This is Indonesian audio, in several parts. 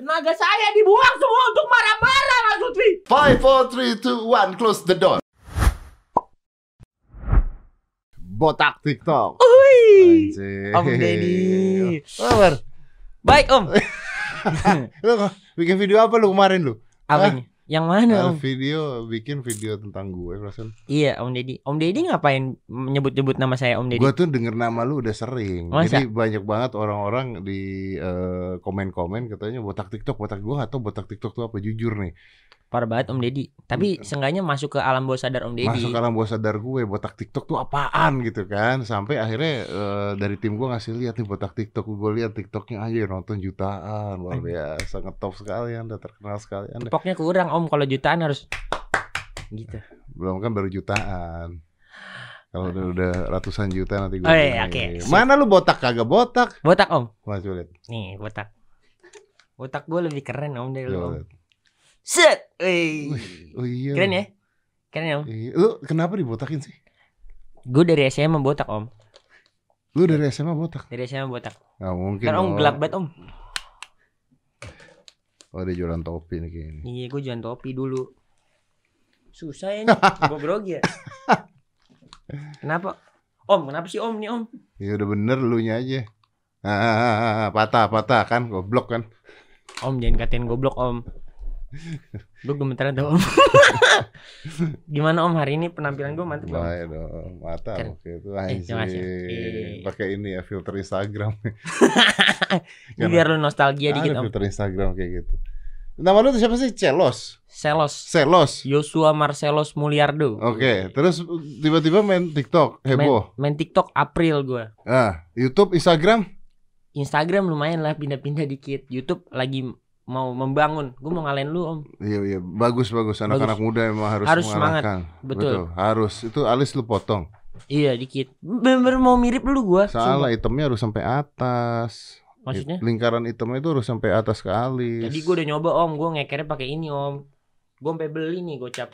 Tenaga saya dibuang semua untuk marah-marah, Mas Lutfi. 5, 4, 3, 2, 1, close the door. Botak TikTok. Wih, Anjir. Om Deddy. Apa kabar? Baik Om. Lu bikin video apa lu kemarin lu? Apanya? Yang mana Om? Bikin video tentang gue perasaan. Iya Om Deddy. Om Deddy ngapain nyebut-nyebut nama saya Om Deddy? Gue tuh denger nama lu udah sering. Masa? Jadi banyak banget orang-orang di komen-komen katanya botak TikTok, botak. Gue gak tau botak TikTok tuh apa, jujur nih. Parah banget Om Deddy. Tapi seenggaknya masuk ke alam bawah sadar Om Deddy. Masuk ke alam bawah sadar gue, botak TikTok tuh apaan gitu kan. Sampai akhirnya dari tim gue ngasih lihat nih botak TikTok. Gue lihat TikToknya aja nonton jutaan. Luar biasa, ngetop sekali Anda, terkenal sekali Anda. Tepoknya kurang Om, kalau jutaan harus gitu. Belum kan baru jutaan. Kalau udah ratusan juta nanti gue. Oh iya, oke. Mana lu botak kagak botak? Botak Om. Wah, coba lihat. Nih botak. Botak gue lebih keren Om dari lu Coba Om. lihat. Set. Wih. Oh iya. Keren ya? Keren ya Om? Iya. Lu kenapa dibotakin sih? Gue dari SMA botak Om. Lu dari SMA botak? Dari SMA botak. Nggak mungkin. Kan Om gelap banget Om. Oh, dia jualan topi nih kayaknya. Iya, gue jualan topi dulu. Susah ya nih, gue grogi ya. Kenapa? Om, kenapa sih Om nih Om? Ya udah bener lu nya aja. Patah kan, goblok kan. Om jangan katain goblok Om. Gue gemeteran tuh Om. Gimana Om hari ini penampilan gue mantep Om? Baik dong, mata Keren. oke itu terima kasih. anjir. Pakai ini ya filter Instagram. Ini biar lu nostalgia dikit Ada Om. filter Instagram kayak gitu. Nama lu tuh siapa sih? Celos. Selos Joshua Marcelos Mulyardo. Oke, terus tiba-tiba main TikTok heboh. Main TikTok April gue. YouTube, Instagram. Instagram lumayan lah pindah-pindah dikit. YouTube lagi mau membangun. Gue mau ngalahin lu Om. Iya, bagus anak-anak muda emang harus semangat. mengalahkan. Betul. Harus. Itu alis lu potong. Iya dikit. Bener mau mirip dulu gue. Salah, hitamnya harus sampai atas. Maksudnya? Lingkaran hitamnya itu harus sampai atas ke alis. Jadi gue udah nyoba Om. Gue ngekernya pakai ini Om. Gue sampai beli nih gocap.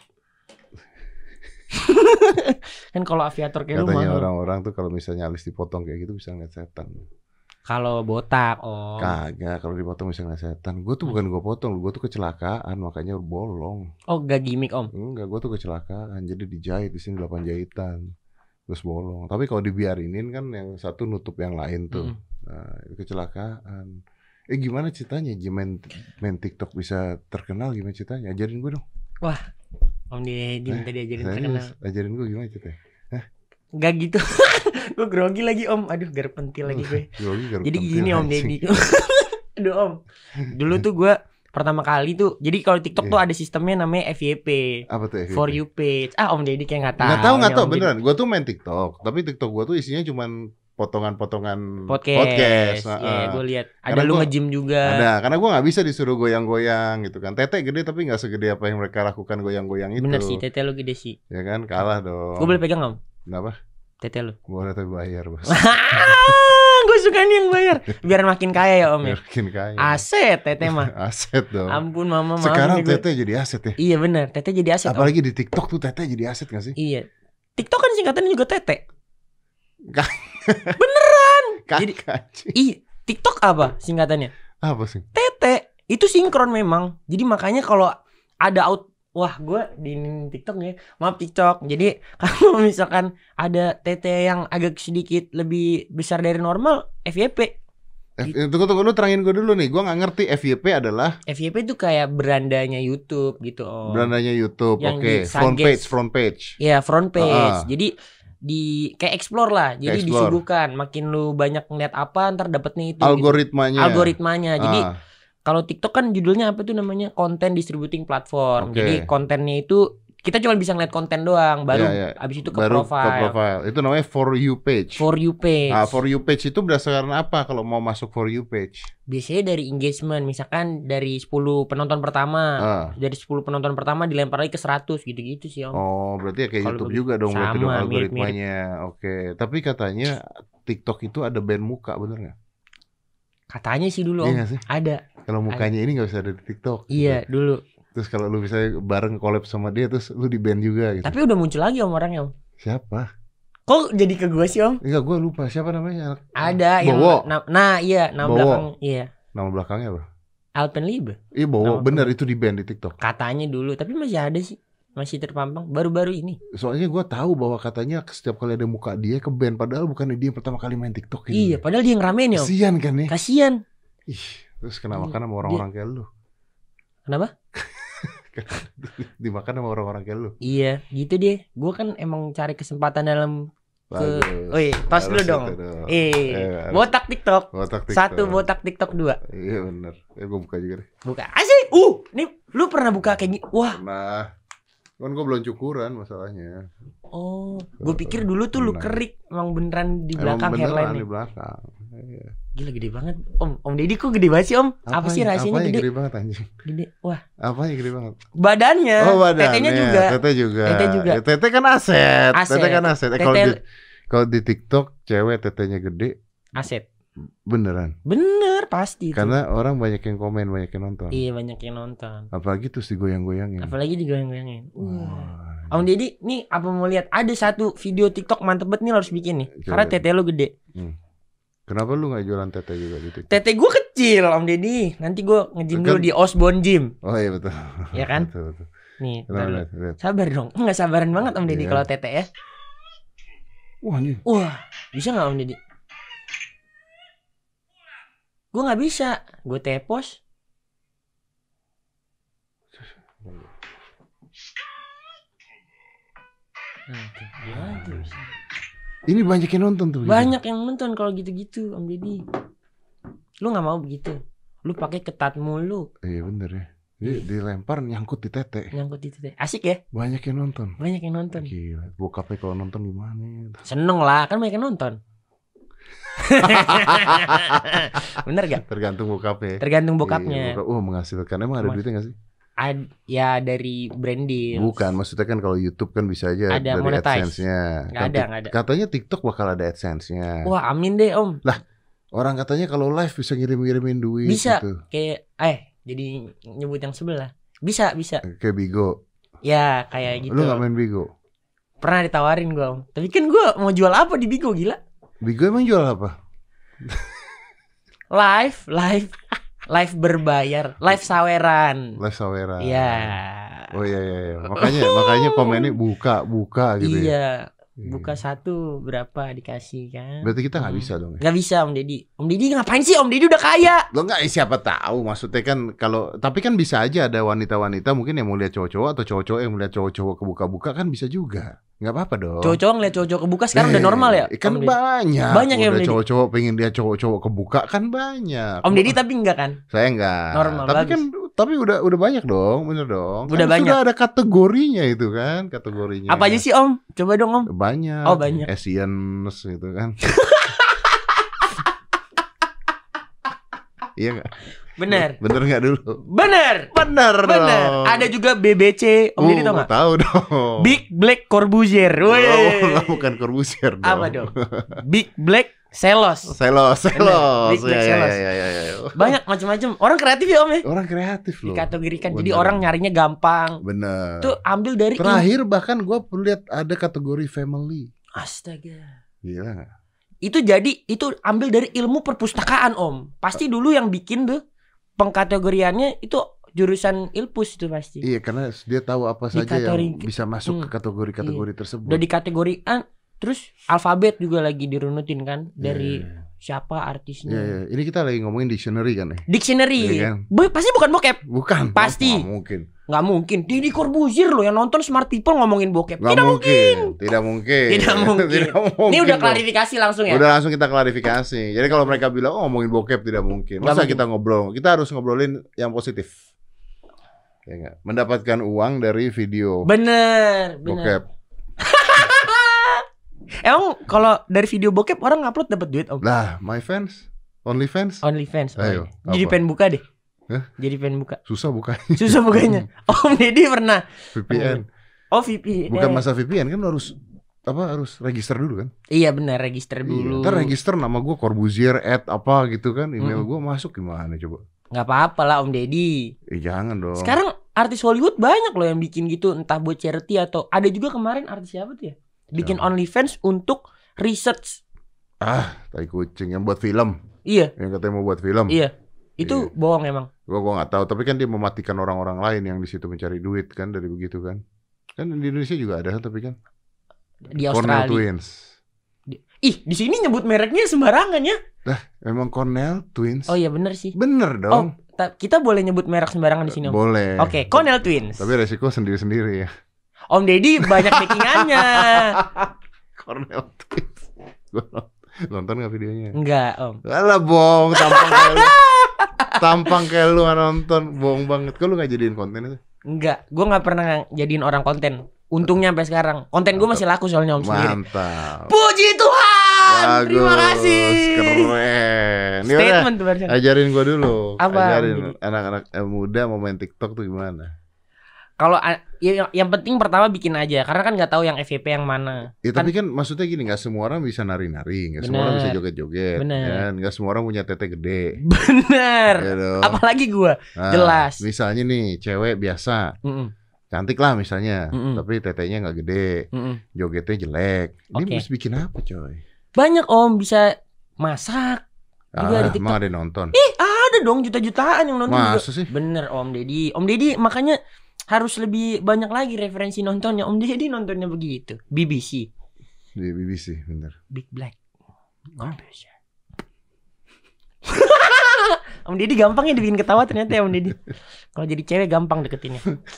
Kan kalau aviator kayak lu Katanya mahal. orang-orang tuh kalau misalnya alis dipotong kayak gitu bisa ngeliat setan. Kalau botak Om. Kagak, kalau dipotong bisa ngeliat setan. Gue tuh bukan gue potong, gue tuh kecelakaan makanya bolong. Oh gak gimmick Om. Enggak, gue tuh kecelakaan. Jadi dijahit di sini 8 jahitan. Terus bolong. Tapi kalau dibiarinin kan yang satu nutup yang lain tuh. Nah, itu kecelakaan. Gimana ceritanya main TikTok bisa terkenal, gimana ceritanya? Ajarin gue dong. Wah, Om Deddy minta diajarin terkenal. Ajarin gue gimana ceritanya? Gak gitu. Gue grogi lagi Om. Aduh gar pentil lagi gue. Jadi gini Om Deddy. Aduh Om. Dulu tuh gue pertama kali tuh. Jadi kalau TikTok tuh ada sistemnya namanya FYP. Apa tuh FYP? For you page. Om Deddy kayak gak tahu. Nggak tahu beneran. Gue tuh main TikTok, tapi TikTok gue tuh isinya cuman potongan-potongan podcast. Iya, gue lihat. Ada lu nge-gym juga. Ada, karena gue nggak bisa disuruh goyang-goyang gitu kan. Tete gede tapi nggak segede apa yang mereka lakukan goyang-goyang itu. Bener sih, tete lu gede sih. Ya kan, kalah dong. Gue boleh pegang Om? Kenapa? Tete lu. Boleh tapi bayar bos. Gue suka nih yang bayar. Biar makin kaya ya Om ya. Makin kaya. Aset tete mah. Aset dong. Ampun mama. Sekarang tete jadi aset ya. Iya bener, tete jadi aset. Apalagi di TikTok tuh tete jadi aset gak sih? Iya. TikTok kan singkatannya juga tete. Jadi TikTok apa singkatannya? Apa sih? Tete. Itu sinkron memang. Jadi makanya kalau ada wah gue di TikTok nih. Maaf TikTok. Jadi kalau misalkan ada tete yang agak sedikit lebih besar dari normal, FYP. Tunggu lu terangin gue dulu nih. Gue gak ngerti FYP adalah. FYP itu kayak berandanya YouTube gitu Om. Berandanya YouTube. Oke. Front page. Iya front page. Jadi kayak explore lah. Jadi disuguhkan. Makin lu banyak ngeliat apa ntar dapetnya itu Algoritmanya. Jadi kalau TikTok kan judulnya apa tuh namanya, Content Distributing Platform. Jadi kontennya itu kita cuma bisa ngeliat konten doang. Baru abis itu ke profile. Itu namanya For You page. For You page. Nah, For You page itu berdasarkan apa kalau mau masuk For You page? Biasanya dari engagement. Misalkan dari 10 penonton pertama. Dari 10 penonton pertama dilempar lagi ke 100 gitu-gitu sih Om. Oh berarti ya kayak kalo YouTube juga dong. Berarti dong algoritmanya. Oke. Tapi katanya TikTok itu ada band muka, bener gak? Katanya sih dulu Om. Ada. Kalau mukanya ini gak bisa ada di TikTok. Iya gitu. Dulu. Terus kalau lu bisa bareng collab sama dia, terus lu di band juga gitu. Tapi udah muncul lagi Om orangnya Om. Siapa? Kok jadi ke gue sih Om? Enggak, gue lupa siapa namanya. Ada Bowo. Nah iya, nama Bowo. belakang. Iya. Nama belakangnya apa? Alpenliebe. Iya bener itu di ban di TikTok. Katanya dulu, tapi masih ada sih. Masih terpampang baru-baru ini. Soalnya gue tahu bahwa katanya setiap kali ada muka dia ke ban, padahal bukannya dia yang pertama kali main TikTok ini. Iya, padahal dia yang ramein ya. Kasian kan ya. Kasian. Ih, terus kena makan sama orang-orang kayak lu. Kenapa? Dimakan sama orang-orang kayak lu. Iya, gitu deh. Gue kan emang cari kesempatan dalam tos dulu dong. Botak TikTok. 1 botak TikTok 2. Iya bener. Gue buka juga deh. Buka. Asik. Nih lu pernah buka kayak gini? Wah. Pernah. Kan gue belum cukuran masalahnya. Oh, gue pikir dulu tuh lu kerik emang beneran di belakang hairline-nya. Di belakang. Iya. Gila gede banget. Om Deddy kok gede banget sih, Om? Apa sih rahasianya gede? Gede banget anjing. Gede. Wah. Apanya gede banget? Badannya. Tetenya juga. Tete juga. Tete kan aset. Tete kan aset. Kalau di TikTok cewek tetenya gede. Aset. Beneran. Bener pasti. Karena orang banyak yang komen, banyak yang nonton. Iya banyak yang nonton. Apalagi tuh digoyang-goyangin. Om Deddy, nih apa mau lihat? Ada satu video TikTok mantep banget nih, lo harus bikin nih. Coba. Karena tete lo gede. Kenapa lu gak jualan tete juga di TikTok? Tete gue kecil, Om Deddy. Nanti gue nge-gym dulu di Osborne Gym. Oh iya betul. Iya kan? betul. Nih, sabar dong. Enggak sabaran banget Om Deddy kalau tete ya. Wah, bisa gak Om Deddy? Gue gak bisa. Gue tepos. Ini banyak yang nonton tuh. Banyak yang nonton kalau gitu-gitu Om Deddy. Lu gak mau begitu. Lu pakai ketat mulu. Iya bener ya. Dilempar nyangkut di tete. Asik ya? Banyak yang nonton. Gila. Bokapnya kalau nonton gimana? Seneng lah, kan banyak yang nonton. Bener gak? Tergantung bokapnya. Iya, menghasilkan. Emang ada duitnya gak sih? Ya dari brand deal. Bukan, maksudnya kan kalau YouTube kan bisa aja ada dari AdSense-nya. Gak ada. Katanya TikTok bakal ada AdSense-nya. Wah amin deh Om. Lah, orang katanya kalau live bisa ngirim-ngirimin duit. Bisa gitu. Kayak jadi nyebut yang sebelah. Bisa. Kayak Bigo. Ya kayak gitu. Lu gak main Bigo? Pernah ditawarin gue Om. Tapi kan gue mau jual apa di Bigo, gila. Bigo emang jual apa? Live berbayar, live saweran. Iya. Oh iya. Makanya komennya buka gitu ya. Iya. Buka 1 berapa dikasih kan. Berarti kita gak bisa dong ya? Gak bisa Om Deddy. Om Deddy ngapain sih? Om Deddy udah kaya. Lo gak, siapa tahu. Maksudnya kan tapi kan bisa aja ada wanita-wanita mungkin yang mau lihat cowok-cowok, atau cowok-cowok yang melihat cowok-cowok kebuka-buka, kan bisa juga. Gak apa-apa dong. Cowok-cowok ngeliat cowok-cowok kebuka sekarang udah normal ya? Kan banyak. Banyak ya Om Deddy. Cowok-cowok pengen lihat cowok-cowok kebuka kan banyak. Om Deddy tapi enggak kan? Saya enggak. Normal. Tapi bagus. kan udah banyak dong, bener dong. Udah kan banyak. Sudah ada kategorinya itu kan, kategorinya. Apa aja sih Om? Coba dong Om. Banyak. Oh banyak. Asians gitu kan. Iya gak? Bener gak dulu? Bener. Ada juga BBC. Om Deddy tau gak? Tahu dong. Big Black Corbuzier. Bukan Corbuzier dong. Apa dong? Big Black Selos. Big Black Selos. Banyak macam-macam. Orang kreatif ya Om ya. Orang kreatif loh. Dikategorikan. Jadi orang nyarinya gampang. Bener. Tuh ambil dari terakhir bahkan gue lihat ada kategori family. Astaga. Gila gak? Itu ambil dari ilmu perpustakaan Om. Pasti dulu yang bikin tuh pengkategoriannya itu jurusan Ilpus itu pasti. Iya, karena dia tahu apa saja yang bisa masuk ke kategori-kategori tersebut. Udah dikategorikan, terus alfabet juga lagi dirunutin kan dari siapa artisnya. Iya. Ini kita lagi ngomongin dictionary kan ya? Dictionary. Kan? Pasti bukan bokep. Bukan. Pasti. Nggak mungkin. Deddy Corbuzier loh yang nonton Smart People ngomongin bokep. Tidak mungkin. Ini udah klarifikasi langsung ya. Udah langsung kita klarifikasi. Jadi kalau mereka bilang ngomongin bokep tidak mungkin. Masa kita ngobrol? Kita harus ngobrolin yang positif. Ya enggak? Mendapatkan uang dari video. Bener. Bokep. Emang kalau dari video bokep orang ngupload dapat duit Om? Lah, my fans, OnlyFans. Ayo. Jadi pengen buka deh. Jadi pengen buka. Susah bukanya. Om Deddy pernah. VPN. Oh VPN. Bukan masa VPN kan harus register dulu kan? Iya benar, register dulu. Ntar register nama gue Corbuzier @ gitu kan, email gue masuk gimana coba? Nggak apa-apa lah Om Deddy. Jangan dong. Sekarang artis Hollywood banyak loh yang bikin gitu, entah buat charity atau ada juga kemarin artis siapa tuh ya? Bikin OnlyFans untuk research. Tai kucing yang buat film. Iya. Yang katanya mau buat film. Iya. Itu bohong emang. Gua nggak tahu, tapi kan dia mematikan orang-orang lain yang di situ mencari duit kan dari begitu kan. Kan di Indonesia juga ada kan, tapi kan di Cornell Australia. Twins. Di sini nyebut mereknya sembarangan ya. Emang Cornell Twins. Oh iya bener sih. Bener dong. Kita boleh nyebut merek sembarangan di sini Om? Boleh. Oke, Cornell Twins. Tapi resiko sendiri-sendiri ya. Om Deddy banyak backingannya. Cornell Twins. Nonton gak videonya? Enggak Om. Alah bohong, tampang kayak lu gak nonton. Bohong banget. Kok lu gak jadiin konten itu? Enggak, gue gak pernah jadiin orang konten. Untungnya sampai sekarang konten gue masih laku soalnya Om sendiri. Mantap. Puji Tuhan. Bagus, terima kasih. Keren. Statement tuh barusan. Ajarin gue dulu. Apa? Ajarin anak-anak muda mau main TikTok tuh gimana? Kalau yang penting pertama bikin aja, karena kan nggak tahu yang FYP yang mana. Ya tapi kan maksudnya gini, nggak semua orang bisa nari-nari, nggak semua orang bisa joget-joget, ya, nggak semua orang punya tete gede. Bener. Gitu. Apalagi gue, jelas. Misalnya nih cewek biasa, cantik lah misalnya, tapi tetenya nggak gede, jogetnya jelek. Ini harus bikin apa coy? Banyak Om, bisa masak. Juga di TikTok. Emang ada yang nonton? Ada dong, juta-jutaan yang nonton. Masa juga. Sih? Bener Om Deddy makanya harus lebih banyak lagi referensi nontonnya. Om Deddy nontonnya begitu. BBC. Di BBC, bener. Big Black. Corporation. Om Deddy gampang ya dibikin ketawa ternyata ya Om Deddy. Kalau jadi cewek gampang deketinnya.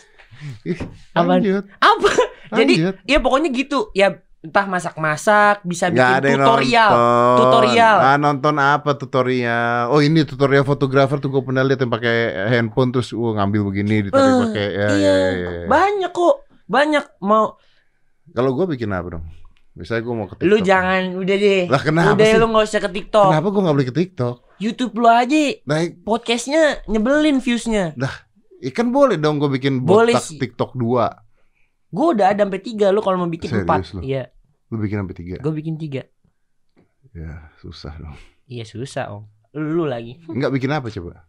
Apa? Jadi ya pokoknya gitu. Ya entah masak-masak, bisa bikin tutorial. Nonton apa tutorial? Oh ini tutorial fotografer tuh gue pernah lihat yang pakai handphone terus ngambil begini ditarik pakai ya. Banyak kok, mau. Kalau gue bikin apa dong? Misalnya gue mau ke TikTok. Lu jangan, udah deh. Lah kenapa udah sih? Lu gak usah ke TikTok. Kenapa gue gak boleh ke TikTok? YouTube lu aja. Podcastnya nyebelin viewsnya. Dah, ikan boleh dong gue bikin botak TikTok 2. Gue udah ada sampai 3, lu kalau mau bikin 4. Iya. Lu bikin sampai 3? Gue bikin 3. Ya, susah dong. Iya, susah, Om. Lu lagi. Enggak bikin apa coba?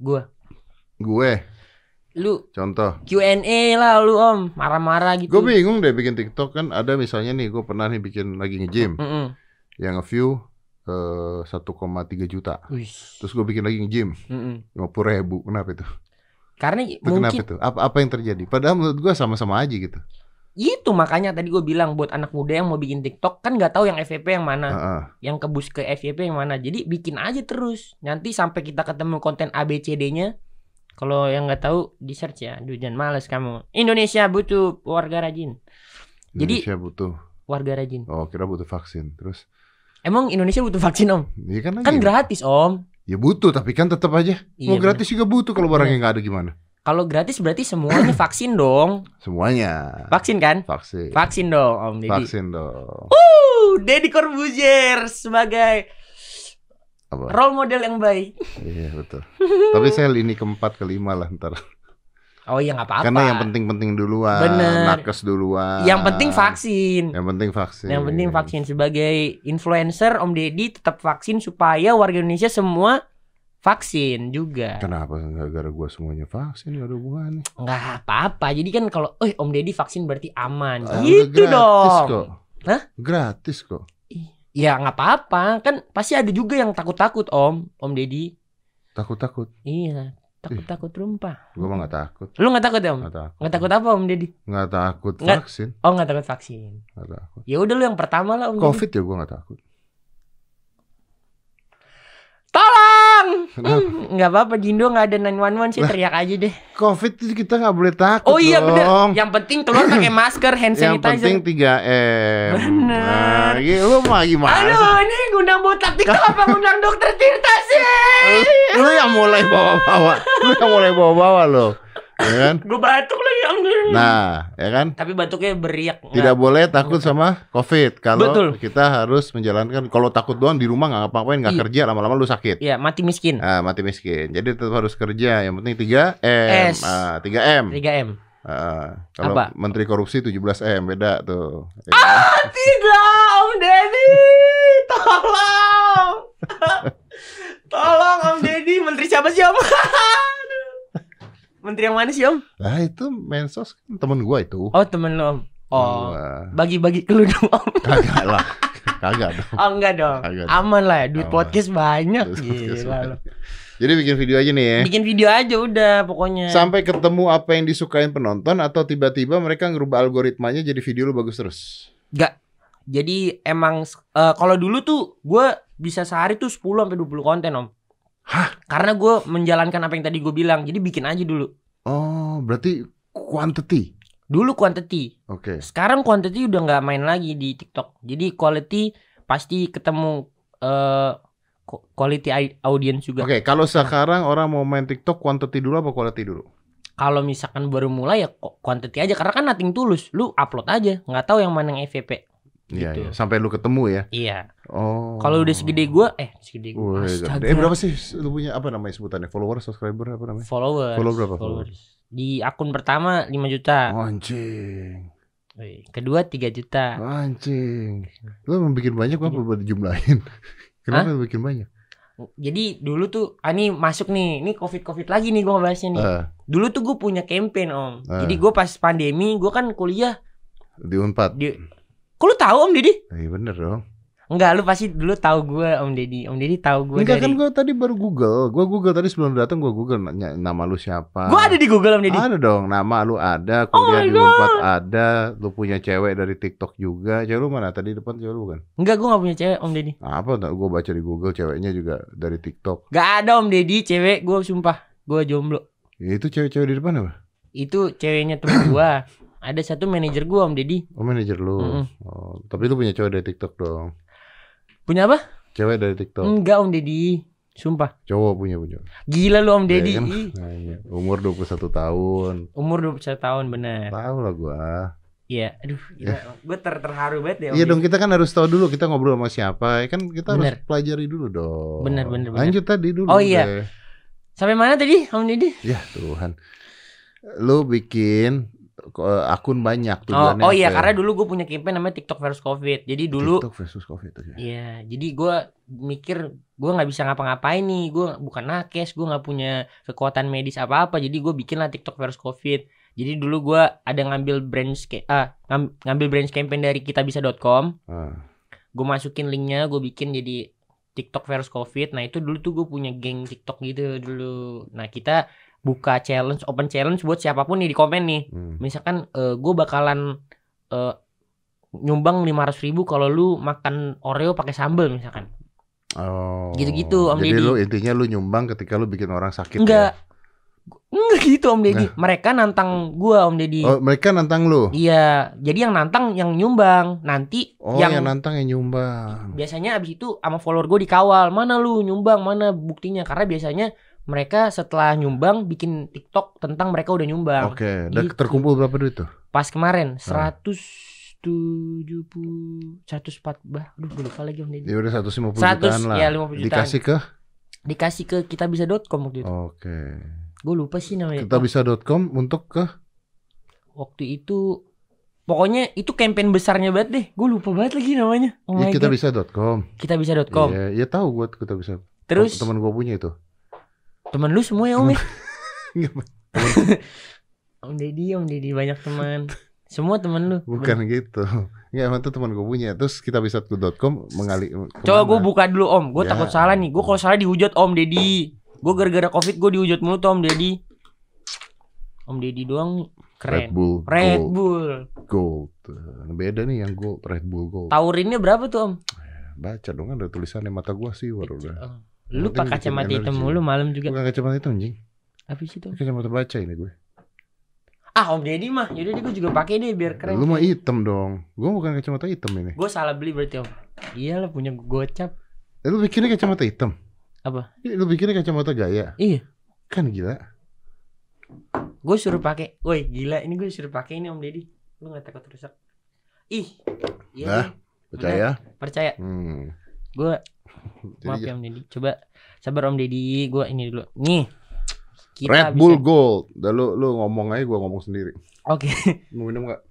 Gue. Lu contoh Q&A lah lu Om, marah-marah gitu. Gue bingung deh bikin TikTok kan. Ada misalnya nih, gue pernah nih bikin lagi nge-gym yang nge-view 1,3 juta. Terus gue bikin lagi nge-gym 50.000. Kenapa itu? Karena itu mungkin kenapa itu? Apa yang terjadi? Padahal menurut gue sama-sama aja gitu. Itu makanya tadi gue bilang buat anak muda yang mau bikin TikTok kan nggak tahu yang FYP yang mana, yang kebus ke FYP yang mana. Jadi bikin aja terus. Nanti sampai kita ketemu konten ABCD-nya. Kalau yang nggak tahu di search ya. Aduh jangan malas kamu. Indonesia butuh warga rajin. Indonesia butuh warga rajin. Oh kira butuh vaksin. Terus? Emang Indonesia butuh vaksin Om? Ya, kan gratis Om. Ya butuh tapi kan tetap aja. Mau gratis juga butuh kalau barangnya nggak ada gimana? Kalau gratis berarti semuanya vaksin dong. Semuanya. Vaksin kan? Vaksin. Vaksin dong Om Deddy. Vaksin dong. Deddy Corbuzier sebagai role model yang baik. Iya betul. Tapi saya lini keempat kelima lah ntar. Oh iya nggak apa-apa. Karena yang penting-penting duluan. Bener. Nakes duluan. Yang penting vaksin. Yang penting vaksin. Sebagai influencer Om Deddy tetap vaksin supaya warga Indonesia semua vaksin juga. Kenapa gara-gara gue semuanya vaksin? Gak ada hubungannya. Nggak apa-apa. Jadi kan kalau Om Deddy vaksin berarti aman. Gitu dong. Kok. Hah? Gratis kok. Ya nggak apa-apa. Kan pasti ada juga yang takut-takut Om Deddy. Takut-takut? Iya. Takut-takut rumpah. Gue mah gak takut. Lu gak takut ya Om? Gak takut apa Om Deddy? Gak takut vaksin. Oh gak takut vaksin. Gak takut. Ya udah lu yang pertama lah Om Covid Deddy. Ya gue gak takut. Tolong! Gak apa-apa Jindo gak ada 911 sih, teriak aja deh. Covid kita gak boleh takut. Oh iya bener. Yang penting keluar pakai masker, hand sanitizer. Yang penting 3M. Bener. Nah, lu mah gimana? Aduh ini ngundang botak TikTok apa ngundang dokter Tirta sih? Lu yang mulai bawa-bawa lo. Ya kan? Gue batuk lagi Om. Nah, ya kan? Tapi batuknya beriak. Tidak boleh takut sama Covid. Kalau kita harus menjalankan. Kalau takut doang di rumah nggak ngapa-ngapain, nggak kerja, lama-lama lu sakit. Iya, mati miskin. Mati miskin. Jadi tetap harus kerja. Yang penting 3M. 3M. 3M. Kalau Menteri Korupsi 17M, beda tuh. Ya. Tidak, Om Deddy, tolong. Tolong Om Deddy, Menteri siapa sih Om? Menteri yang mana sih Om? Lah itu Mensos kan temen gua itu. Oh temen lo Om. Oh bagi-bagi ke lu dong Om. Kagak lah. Kagak dong. Oh enggak dong. Aman lah ya, duit podcast banyak. Gila lo. Jadi bikin video aja nih ya. Bikin video aja udah pokoknya. Sampai ketemu apa yang disukain penonton atau tiba-tiba mereka ngerubah algoritmanya jadi video lu bagus terus? Enggak. Jadi emang kalau dulu tuh gue bisa sehari tuh 10 sampai 20 konten Om. Hah? Karena gue menjalankan apa yang tadi gue bilang. Jadi bikin aja dulu. Oh, berarti quantity. Dulu quantity. Oke. Sekarang quantity udah nggak main lagi di TikTok. Jadi quality pasti ketemu quality audience juga. Oke, kalau sekarang orang mau main TikTok quantity dulu apa quality dulu? Kalau misalkan baru mulai ya quantity aja karena kan nothing tulus. Lu upload aja, nggak tahu yang mana yang FVP. Iya, Gitu. iya. Sampai lu ketemu ya. Iya. Oh. Kalau udah segede gua, segede gua. Berapa sih lu punya apa namanya sebutannya? Follower, subscriber apa namanya? Followers. Follow berapa followers? Di akun pertama 5 juta. Anjing. Kedua 3 juta. Anjing. Lu mau bikin banyak apa buat dijumlahin? Kenapa lu bikin banyak? Jadi dulu tuh ini masuk nih. Ini Covid lagi nih gua ngebahasnya nih. Dulu tuh gue punya campaign Om. Jadi gue pas pandemi gue kan kuliah di Unpad. Kok lu tahu Om Deddy? Iya bener dong. Enggak, lu pasti dulu tahu gue Om Deddy. Om Deddy tahu gue enggak, kan gue tadi baru Google. Gue Google tadi sebelum datang gue Google nama lu siapa. Gue ada di Google Om Deddy. Ada dong, nama lu ada, kuliah di Unpad ada, lu punya cewek dari TikTok juga. Cewek lu mana tadi depan cewek lu bukan? Enggak, gue gak punya cewek Om Deddy. Apa gue baca di Google ceweknya juga dari TikTok. Gak ada Om Deddy cewek, gue sumpah. Gue jomblo. Ya, itu cewek-cewek di depan apa? Itu ceweknya temen gue. Ada satu manajer gue Om Deddy. Oh manajer lu. Oh, tapi lu punya cewek dari TikTok dong. Punya apa? Cewek dari TikTok. Enggak Om Deddy. Sumpah. Cowok punya. Gila lu Om Deddy. Ya, kan? Nah, iya. Umur 21 tahun. Umur 21 tahun bener. Tahu lah gua. Iya, aduh, gue terharu banget ya. Iya dong, kita kan harus tahu dulu kita ngobrol sama siapa. Kan kita harus pelajari dulu dong. Bener. Lanjut tadi dulu. Oh iya. Sampai mana tadi Om Deddy? Ya Tuhan. Lu bikin akun banyak tujuannya. Oh iya, karena dulu gue punya campaign namanya TikTok versus Covid. Jadi dulu TikTok versus Covid aja. Iya, jadi gue mikir gue nggak bisa ngapa-ngapain nih. Gue bukan nakes, gue nggak punya kekuatan medis apa-apa. Jadi gue bikin lah TikTok versus Covid. Jadi dulu gue ada ngambil branch campaign dari kitabisa.com. Gue masukin linknya, gue bikin jadi TikTok versus Covid. Nah itu dulu tuh gue punya geng TikTok gitu dulu. Nah kita buka challenge, open challenge buat siapapun nih di komen nih. Misalkan gue bakalan nyumbang 500.000 kalau lu makan Oreo pakai sambal misalkan. Oh. Gitu-gitu Om Deddy. Jadi lu intinya lu nyumbang ketika lu bikin orang sakit. Enggak. Ya? Enggak gitu Om Deddy. Mereka nantang gua Om Deddy. Oh, mereka nantang lu? Iya. Jadi yang nantang yang nyumbang. Nanti yang nantang yang nyumbang. Biasanya abis itu sama follower gue dikawal. Mana lu nyumbang, mana buktinya. Karena biasanya mereka setelah nyumbang bikin TikTok tentang mereka udah nyumbang. Oke. Dan gitu. Terkumpul berapa duit tuh? Pas kemarin 170 104 aduh gue lupa lagi Om Deddy. Ya udah 150 jutaan lah. Ya 50 jutaan. Dikasih ke kitabisa.com waktu itu. Oke. Gue lupa sih namanya. Kitabisa.com untuk ke waktu itu pokoknya itu campaign besarnya banget deh. Gue lupa banget lagi namanya. Oh ya, kitabisa.com. Kitabisa.com. Iya, tahu gue kitabisa. Terus teman gue punya itu. Teman lu semua ya Om ya? Om Deddy banyak teman. Semua teman lu. Bukan gitu. Enggak, emang tuh teman gue punya. Terus kitabisa.com mengalir. Coba gue buka dulu Om. Gue takut salah nih. Gue kalau salah dihujat Om Deddy. Gue gara-gara Covid gue dihujat mulu tuh Om Deddy. Om Deddy doang keren. Red Bull Gold. Beda nih yang Gold, Red Bull Gold. Taurinnya berapa tuh Om? Baca dong, kan ada tulisannya mata gua sih baru udah. Lu pakai kacamata hitam mulu malam juga. Bukan kacamata hitam anjing. Apa sih itu? Kacamata baca ini gue. Om Deddy mah, yaudah gue juga pakai deh biar keren. Lu mah hitam dong. Gua bukan kacamata hitam ini. Gue salah beli berarti Om. Iyalah punya gocap. Lu bikinnya kacamata hitam? Apa? Lu bikinnya kacamata gaya? Iya. Kan gila. Gue suruh pakai. Woi gila, ini gue suruh pakai ini Om Deddy. Lu nggak takut rusak? Ih. Iya. Nah, percaya? Percaya. Gue maaf ya Om Deddy. Coba sabar Om Deddy. Gue ini dulu. Nih. Red Bull Gold. Udah lu ngomong aja, gue ngomong sendiri. Oke. Mau minum nggak?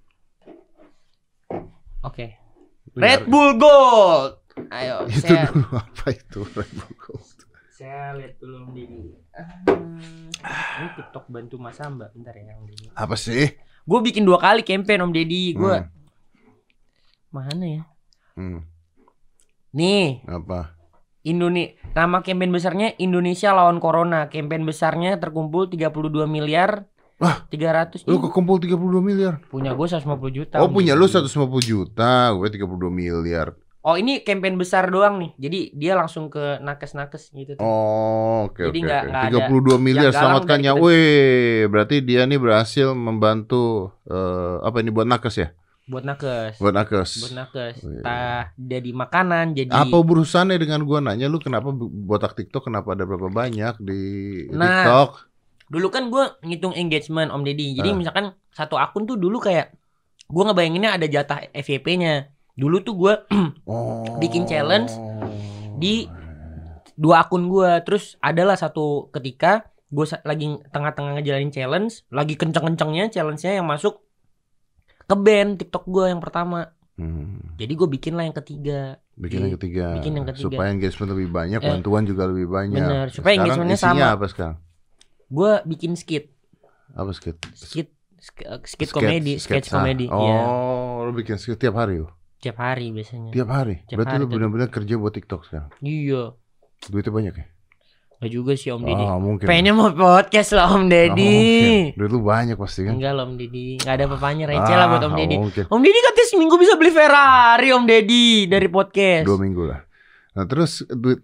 Oke. Red Bull Gold. Ayo. Itu dulu apa itu Red Bull Gold? Saya lihat dulu Om Deddy. Ini TikTok bantu Mas Amba. Bentar ya Om Deddy. Apa sih? Gue bikin 2 kali campaign Om Deddy. Gue mana ya? Nih. Apa? Nama campaign besarnya Indonesia lawan Corona. Campaign besarnya terkumpul 32 miliar. 300. Lu kekumpul 32 miliar. Punya gue 150 juta. Oh, punya lu 150 juta, gue 32 miliar. Oh, ini campaign besar doang nih. Jadi dia langsung ke nakes-nakes gitu tuh. Oh, oke. Jadi nggak 32 miliar selamatkan nyawa. Wih, berarti dia nih berhasil membantu apa ini buat nakes ya? Buat nakes. Wih. Jadi makanan, jadi. Apa urusannya dengan gua nanya lu kenapa botak TikTok, kenapa ada berapa banyak di TikTok? Dulu kan gua ngitung engagement Om Deddy. Jadi misalkan satu akun tuh dulu kayak gua ngebayanginnya ada jatah FYP-nya. Dulu tuh gua bikin challenge di 2 akun gua. Terus adalah satu ketika gua lagi tengah-tengah ngejalanin challenge, lagi kenceng-kencengnya challenge-nya yang masuk ke band TikTok gue yang pertama. Jadi gue bikin lah yang ketiga. Bikin yang ketiga. Supaya engagement lebih banyak, bantuan juga lebih banyak. Bener. Supaya engagementnya sama. Isinya apa sekarang? Gue bikin skit. Apa skit? Skit komedi, sketch komedi. Oh, lu bikin skit tiap hari lu? Tiap hari biasanya. Tiap hari? Berarti lu benar-benar kerja buat TikTok sekarang? Iya. Duitnya banyak ya? Gak juga sih Om Deddy. Mungkin. Pengennya mau podcast lah Om Deddy. Duit lu banyak pasti kan? Enggak lah Om Deddy. Gak ada apa-apanya, receh lah buat Om Deddy. Mungkin. Om Deddy katanya seminggu bisa beli Ferrari Om Deddy dari podcast. 2 minggu lah. Nah terus duit.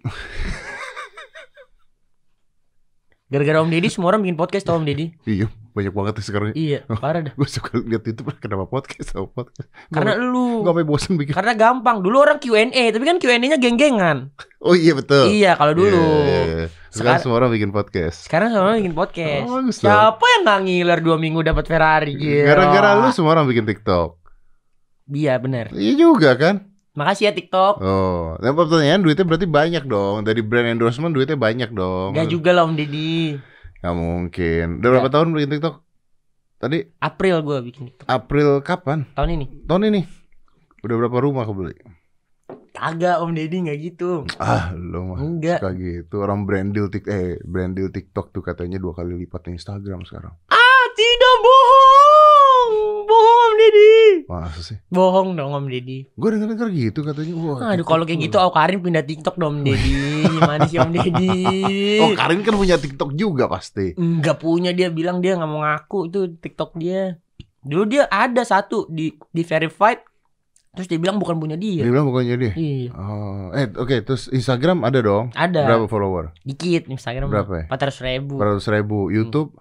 Gara-gara Om Deddy semua orang bikin podcast tau Om Deddy. Iya, banyak banget sekarang. Iya, parah dah. Gue suka lihat itu kenapa podcast. Karena lu. Gak sampai bosan bikin. Karena gampang. Dulu orang Q&A, tapi kan Q&A-nya geng-gengan. Oh iya betul. Iya, kalau dulu. Yeah. Sekarang semua orang bikin podcast. Sekarang semua orang bikin podcast. Siapa yang gak ngiler 2 minggu dapat Ferrari gitu? Gara-gara lu semua orang bikin TikTok. Iya, benar. Iya juga kan? Makasih ya TikTok. Oh, yang pertanyaan duitnya berarti banyak dong. Dari brand endorsement duitnya banyak dong. Gak juga lah Om Deddy. Gak mungkin. Udah berapa tahun bikin TikTok? Tadi April gue bikin TikTok. April kapan? Tahun ini. Tahun ini. Udah berapa rumah kebeli? Kagak Om Deddy gak gitu. Lu mah enggak. Suka gitu. Orang brand deal TikTok tuh katanya 2 kali lipat Instagram sekarang. Tidak, bohong. Bohong Om Deddy. Masa sih? Bohong dong Om Deddy. Gue denger gitu katanya. Aduh kalau kayak gitu Karin pindah TikTok dong Om Deddy. Gimana sih Om Deddy? Oh Karin kan punya TikTok juga pasti. Enggak punya, dia bilang dia gak mau ngaku itu TikTok dia. Dulu dia ada satu di verified. Terus dia bilang bukan punya dia. Dia bilang bukannya dia? Iya. Oh, oke. Terus Instagram ada dong? Ada. Berapa follower? Dikit Instagram. Berapa ya? 400.000. 400.000. YouTube?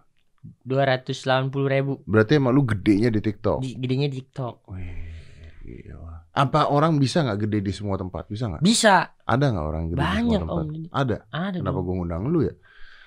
280.000. Berarti emang lu gedenya di TikTok? Gedenya di TikTok. Wih, gila. Apa orang bisa gak gede di semua tempat? Bisa gak? Bisa. Ada gak orang gede banyak, di semua tempat? Om. Ada? Kenapa gue ngundang lu ya?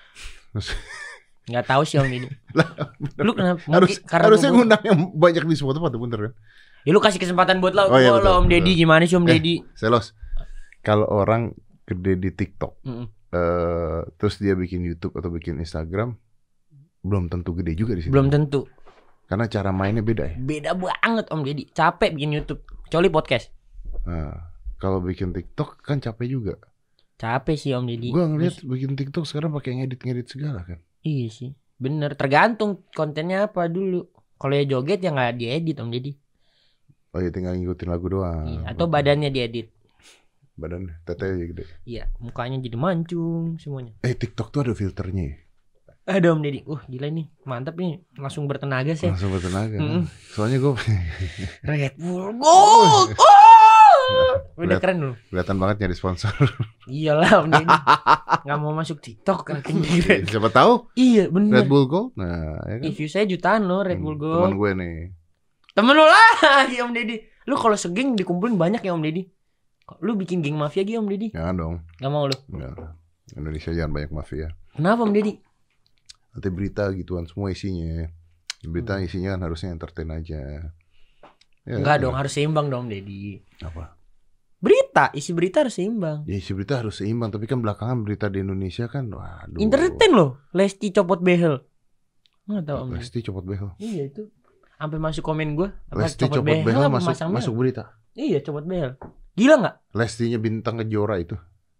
Gak tahu sih Om ini. Lu kenapa? Harusnya ngundang yang banyak di semua tempat, bener kan? Ya lu kasih kesempatan buat lo, Om Deddy. Gimana sih Om Deddy? Selos. Kalau orang gede di TikTok, terus dia bikin YouTube atau bikin Instagram, belum tentu gede juga di situ. Belum tentu. Karena cara mainnya beda ya. Beda banget Om Deddy. Capek bikin YouTube. Kecuali podcast. Nah, kalau bikin TikTok kan capek juga. Capek sih Om Deddy. Gua ngeliat bikin TikTok sekarang pakai ngedit segala kan. Iya sih. Bener. Tergantung kontennya apa dulu. Kalau ya joget ya nggak diedit Om Deddy. Oh ya tinggal ngikutin lagu doang. Iya, atau badannya diedit. Badan tetenya gede. Iya, mukanya jadi mancung semuanya. TikTok tuh ada filternya ya? Ada Om Deddy. Gila nih, mantap nih. Langsung bertenaga sih. Langsung bertenaga. Soalnya gue Red Bull Gold. Udah keren loh. Kelihatan banget nyari sponsor. Iyalah Om Deddy. Gak mau masuk TikTok kan. Siapa tahu? Iya bener. Red Bull Gold. Nah, ya kan? View saya jutaan loh Red Bull Gold. Temen gue nih. Temen lu lah Om Deddy. Lu kalau segeng dikumpulin banyak ya Om Deddy. Lu bikin geng mafia gitu Om Deddy? Jangan dong. Gak mau lu? Enggak. Indonesia jangan banyak mafia. Kenapa Om Deddy? Nanti berita gituan semua isinya. Berita isinya kan harusnya entertain aja. Ya, enggak dong, harus seimbang dong Om Deddy. Apa? Berita, isi berita harus seimbang. Ya isi berita harus seimbang, tapi kan belakangan berita di Indonesia kan waduh. Entertain loh, Lesti copot behel. Enggak tahu Om. Lesti copot behel. Iya itu. Sampai masuk komen gue. Lesti copot behel masuk berita. Iya, copot behel. Gila enggak? Lestinya bintang Kejora itu.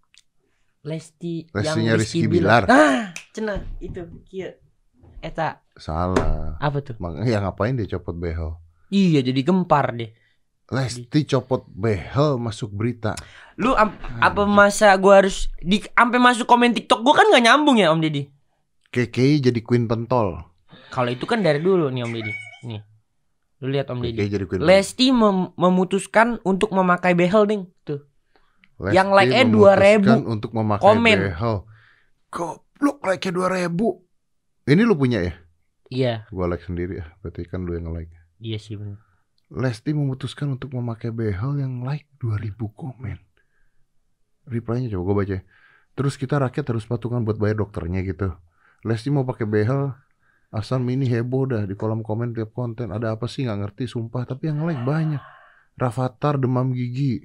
Lestinya yang Rizky Bilar. Cenah itu kieu. Eta salah. Apa tuh? Makanya ngapain dia copot behel? Iya, jadi gempar deh. Lesti copot behel masuk berita. Lu apa masa gua harus sampai masuk komen TikTok gua kan nggak nyambung ya Om Deddy. KKI jadi queen pentol. Kalau itu kan dari dulu nih Om Deddy. Nih. Lu lihat Om Deddy. Lesti memutuskan untuk memakai behel ding tuh. Lesti yang like-nya 2.000 untuk memakai komen. Behel. Goblok like-nya 2.000. Ini lu punya ya? Iya. Gua like sendiri ya. Berarti kan lu yang nge-like. Iya sih benar. Lesti memutuskan untuk memakai behel yang like 2.000 komen. Reply-nya coba gue baca. Terus kita rakyat harus patungan buat bayar dokternya gitu. Lesti mau pakai behel, asal mini heboh dah di kolom komen tiap konten. Ada apa sih nggak ngerti sumpah, tapi yang like banyak. Rafathar demam gigi.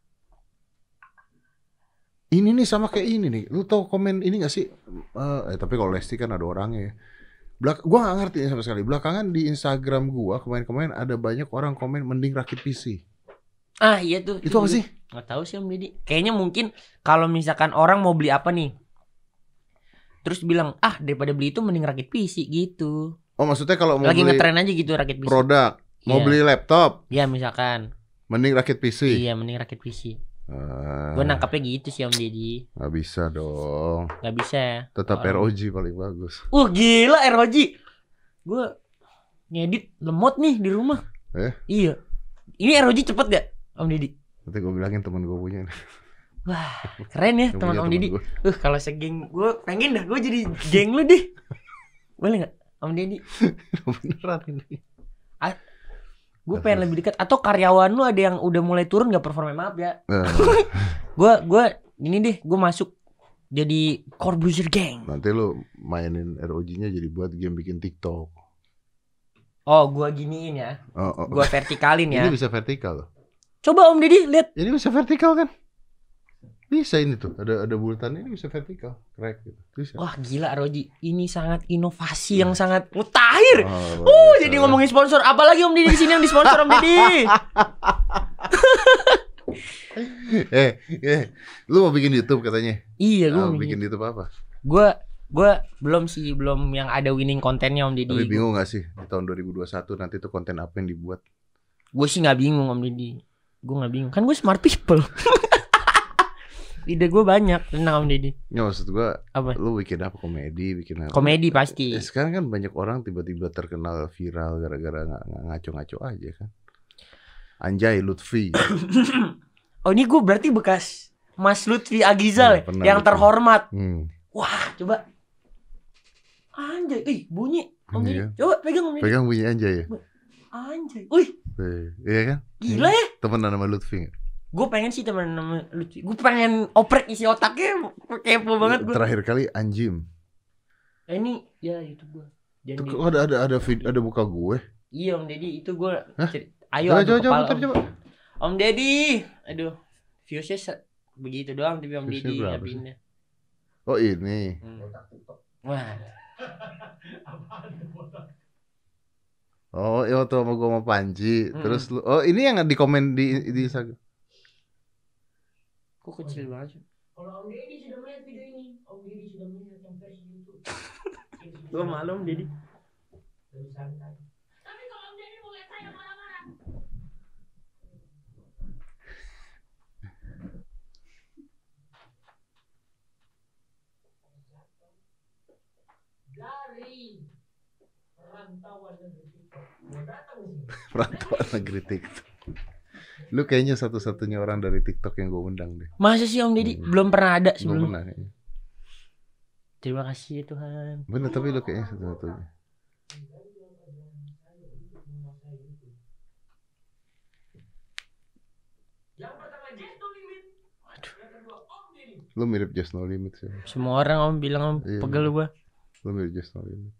Ini nih sama kayak ini nih. Lu tau komen ini gak sih? Tapi kalau Lesti kan ada orangnya ya. Gua gak ngerti sama sekali. Belakangan di Instagram gua kemarin ada banyak orang komen mending rakit PC. Ah iya tuh. Itu apa sih? Gak tahu sih Om Deddy. Kayaknya mungkin kalau misalkan orang mau beli apa nih, terus bilang daripada beli itu mending rakit PC gitu. Oh maksudnya kalau mau lagi beli ngetren aja gitu rakit PC. Produk. Mau beli laptop. Iya misalkan. Mending rakit PC. Iya mending rakit PC. Gue nangkapnya gitu sih Om Deddy. Gak bisa dong. Gak bisa ya. Tetap ROG paling bagus. Gila ROG. Gue ngedit lemot nih di rumah. Iya. Ini ROG cepet gak Om Deddy? Nanti gue bilangin temen gue punya. Wah keren ya teman Om Deddy. Kalau segeng gue pengen dah gue jadi geng lu deh. Boleh gak Om Deddy? Beneran ini. Gue pengen lebih dekat. Atau karyawan lu ada yang udah mulai turun gak performa, maaf ya. Gue ini deh, gue masuk jadi Corbuzier Gang. Nanti lu mainin ROG-nya jadi buat game bikin TikTok. Oh gue giniin ya. Gue vertikalin ya. Ini bisa vertikal loh. Coba Om Deddy lihat. Ini bisa vertikal kan? Bisa ini tuh, ada bulatan ini bisa vertikal, crack gitu. Bisa. Wah gila Roji, ini sangat inovasi yang sangat mutakhir. Jadi ngomongin sponsor, apalagi Om Deddy di sini yang disponsor Om Deddy. Lu mau bikin YouTube katanya? Iya, gue mau bikin YouTube apa? Gue belum yang ada winning kontennya Om Deddy. Tapi bingung gak sih di tahun 2021 nanti tuh konten apa yang dibuat? Gue sih nggak bingung Om Deddy. Gue nggak bingung, kan gue smart people. Ide gue banyak tentang Om Deddy. Ya maksud gue, lu bikin apa? Komedi, bikin apa? Komedi pasti. Sekarang kan banyak orang tiba-tiba terkenal viral gara-gara nggak ngaco-ngaco aja kan. Anjay Lutfi. Oh ini gue berarti bekas Mas Lutfi Agizal yang terhormat. Wah coba. Anjay, bunyi Om Deddy. Coba pegang Om Deddy. Pegang bunyi Anjay ya. Anjay, wih. Iya kan? Gila ya. Temenan sama Lutfi. Gue pengen sih temen nama Lutfi. Gue pengen oprek isi otaknya. Kepo banget gue. Terakhir kali Anjim. Ini ya itu gue. Kok ada buka gue? Iya Om Deddy itu gue. Ayo coba. Om Deddy. Aduh. Viewsnya begitu doang tapi Om Deddy pindah. Oh ini. Wah. Oh iya tuh sama gue sama Panji. Terus lu, oh ini yang di komen di Instagram. Kok kecil banget sih? Kalau Om Deddy sudah melihat video ini, Om Deddy sudah melihat yang versi YouTube. Gue malu Om Deddy. Lebih santai. Tapi kalau Om Deddy mau lihat saya marah-marah. Dari perantauan negeri TikTok. Mau datang sih. Perantauan negeri TikTok. Lu kayaknya satu-satunya orang dari TikTok yang gue undang deh. Masa sih Om Deddy? Belum pernah ada sebelum. Belum pernah kayaknya. Terima kasih Tuhan. Bener tapi lu kayaknya satu-satunya. Yang pertama Just No Limit. Waduh. Yang kedua Om Deddy. Lu mirip Just No Limit sih. Semua orang Om bilang Om pegel gua. Lu mirip Just No Limit.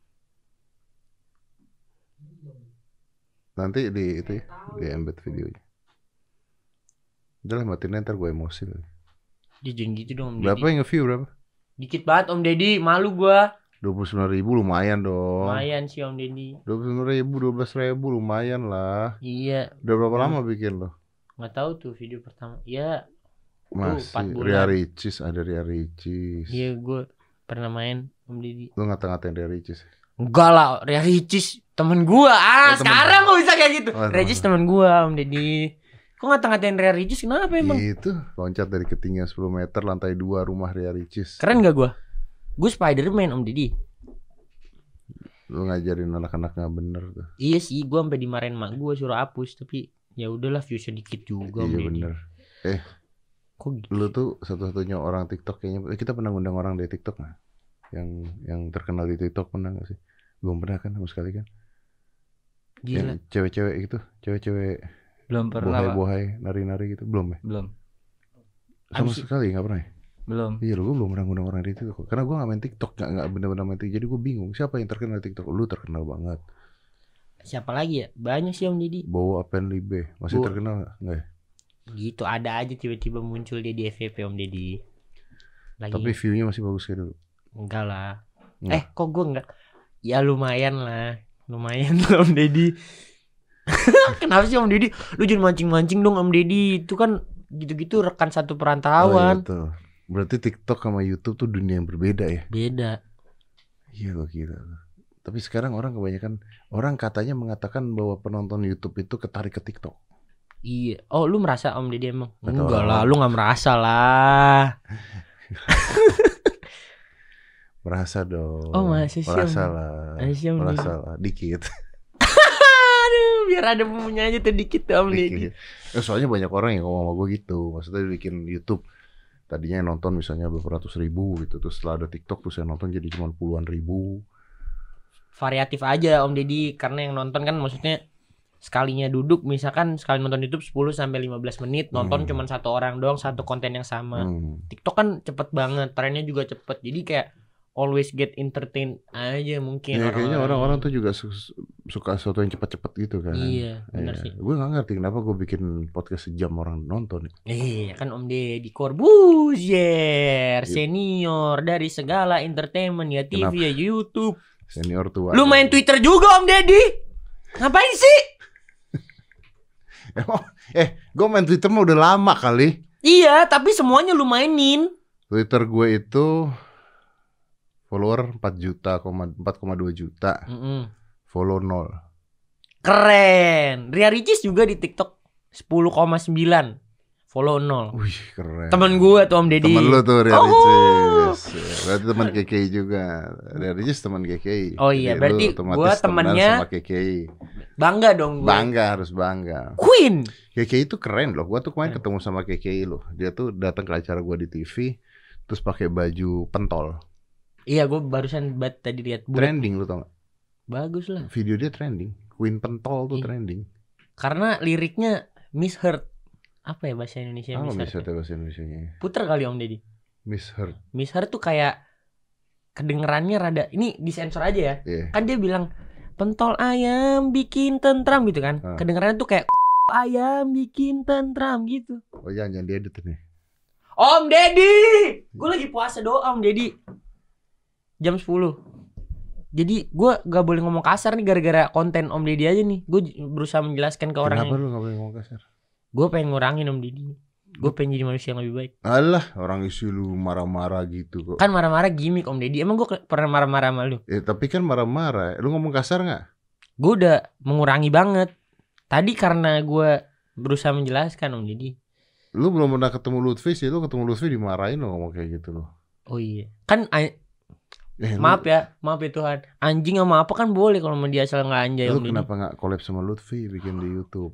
Nanti di itu ya, di embed videonya. Udah lah matiin ntar gue emosi lagi. Jangan gitu dong Om Deddy. Berapa yang nge-view berapa? Dikit banget Om Deddy, malu gua. 29.000 lumayan dong. Lumayan sih Om Deddy. 29.000, 12.000 lumayan lah. Iya. Udah berapa lama bikin lo? Nggak tahu tuh video pertama. Ya. Masih Ria Ricis, ada Ria Ricis. Iya gue pernah main Om Deddy. Lu ngata-ngatain Ria Ricis? Enggak lah, Ria Ricis Temen gua. Sekarang kok bisa kayak gitu. Regis temen gua, Om Deddy. Kok ngata-ngatain Ria Ricis kenapa emang? Itu loncat dari ketinggian 10 meter lantai 2 rumah Ria Ricis. Keren gak gua? Gua Spiderman, Om Deddy. Lu ngajarin anak-anak gak bener tuh. Iya sih, gua sampai dimarahin mak gua suruh hapus, tapi ya udahlah view sedikit juga. Iya bener. Kok gitu? Lu tuh satu-satunya orang TikTok kayaknya. Kita pernah ngundang orang dari TikTok gak? Yang terkenal di TikTok pernah gak sih? Belum pernah kan sama sekali kan? Gila. Cewek-cewek gitu, cewek-cewek belum pernah. Bohai, nari-nari gitu, belum ya? Belum. Sama sekali gak pernah ya? Belum. Iya lu, gue belum pernah ngundang orang di TikTok. Karena gue gak main TikTok, gak bener-bener main TikTok. Jadi gue bingung, siapa yang terkenal di TikTok? Lu terkenal banget. Siapa lagi ya? Banyak sih Om Deddy. Bowo Apenlibe, masih terkenal gak? Enggak ya? Gitu, ada aja tiba-tiba muncul dia di FYP Om Deddy. Tapi view-nya masih bagus kayak dulu? Enggak lah. Kok gue enggak? Ya lumayan lah. Lumayan lah Om Deddy. Kenapa sih Om Deddy? Lu jangan mancing-mancing dong Om Deddy. Itu kan gitu-gitu rekan satu perantauan. Oh, iya, berarti TikTok sama YouTube tuh dunia yang berbeda ya? Beda. Iya loh gila. Tapi sekarang orang kebanyakan, orang katanya mengatakan bahwa penonton YouTube itu ketarik ke TikTok. Iya. Oh lu merasa Om Deddy emang? Enggak lah, lu gak merasa lah. Merasa dong. Oh masa sih? Merasa lah. Dikit. Biar ada bumbunya aja tuh dikit tuh Om Deddy. Soalnya banyak orang yang ngomong sama gue gitu. Maksudnya bikin YouTube, tadinya yang nonton misalnya beberapa ratus ribu gitu, terus setelah ada TikTok terus yang nonton jadi cuma puluhan ribu. Variatif aja Om Deddy, karena yang nonton kan maksudnya sekalinya duduk, misalkan sekali nonton YouTube 10-15 menit, nonton cuma satu orang doang, satu konten yang sama. TikTok kan cepet banget, trennya juga cepet, jadi kayak always get entertained aja mungkin. Ya, kayaknya orang-orang tuh juga suka sesuatu yang cepat-cepat gitu kan. Iya, benar sih. Gue gak ngerti kenapa gue bikin podcast sejam orang nonton. Iya kan Om Deddy Corbuzier, senior dari segala entertainment ya, TV kenapa? Ya YouTube. Senior tua. Lu main Twitter juga Om Deddy? Ngapain sih? Gue main Twitter mah udah lama kali. Iya, tapi semuanya lu mainin. Twitter gue itu follower 4,2 juta. Follow 0. Keren. Ria Ricis juga di TikTok 10,9. Follow 0. Wih, keren. Temen gue tuh Om Deddy. Temen lu tuh Ria Ricis. Berarti teman KKI juga. Ria Ricis teman KKI. Oh iya, berarti gue temennya sama KKI. Bangga dong gue. Bangga, harus bangga. Queen. KKI itu keren loh. Gue tuh kemarin ketemu sama KKI loh. Dia tuh datang ke acara gue di TV, terus pakai baju pentol. Iya, gue barusan tadi lihat. Trending lu tau gak? Bagus lah. Video dia trending. Queen pentol tuh trending. Karena liriknya misheard. Apa ya bahasa Indonesia? Apa misheard bahasa Indonesianya? Puter kali Om Deddy. Misheard. Misheard tuh kayak kedengerannya rada. Ini disensor aja ya. Kan dia bilang pentol ayam bikin tentram gitu kan. Kedengerannya tuh kayak ayam bikin tentram gitu. Oh jangan diedit nih. Om Deddy, gue lagi puasa doa Om Deddy. Jam 10. Jadi gue gak boleh ngomong kasar nih gara-gara konten Om Deddy aja nih. Gue berusaha menjelaskan ke orang. Kenapa lu gak boleh ngomong kasar? Gue pengen ngurangin Om Deddy. Gue pengen jadi manusia yang lebih baik. Alah, orang isi lu marah-marah gitu kok. Kan marah-marah gimmick Om Deddy. Emang gue pernah marah-marah sama lu? Tapi kan marah-marah. Lu ngomong kasar gak? Gue udah mengurangi banget. Tadi karena gue berusaha menjelaskan Om Deddy. Lu belum pernah ketemu Lutfi sih. Lu ketemu Lutfi dimarahin lo ngomong kayak gitu loh. Oh iya. Kan maaf ya Tuhan. Anjing sama apa kan boleh kalau dia asal nggak anjay. Lu kenapa nggak collab sama Lutfi bikin di YouTube?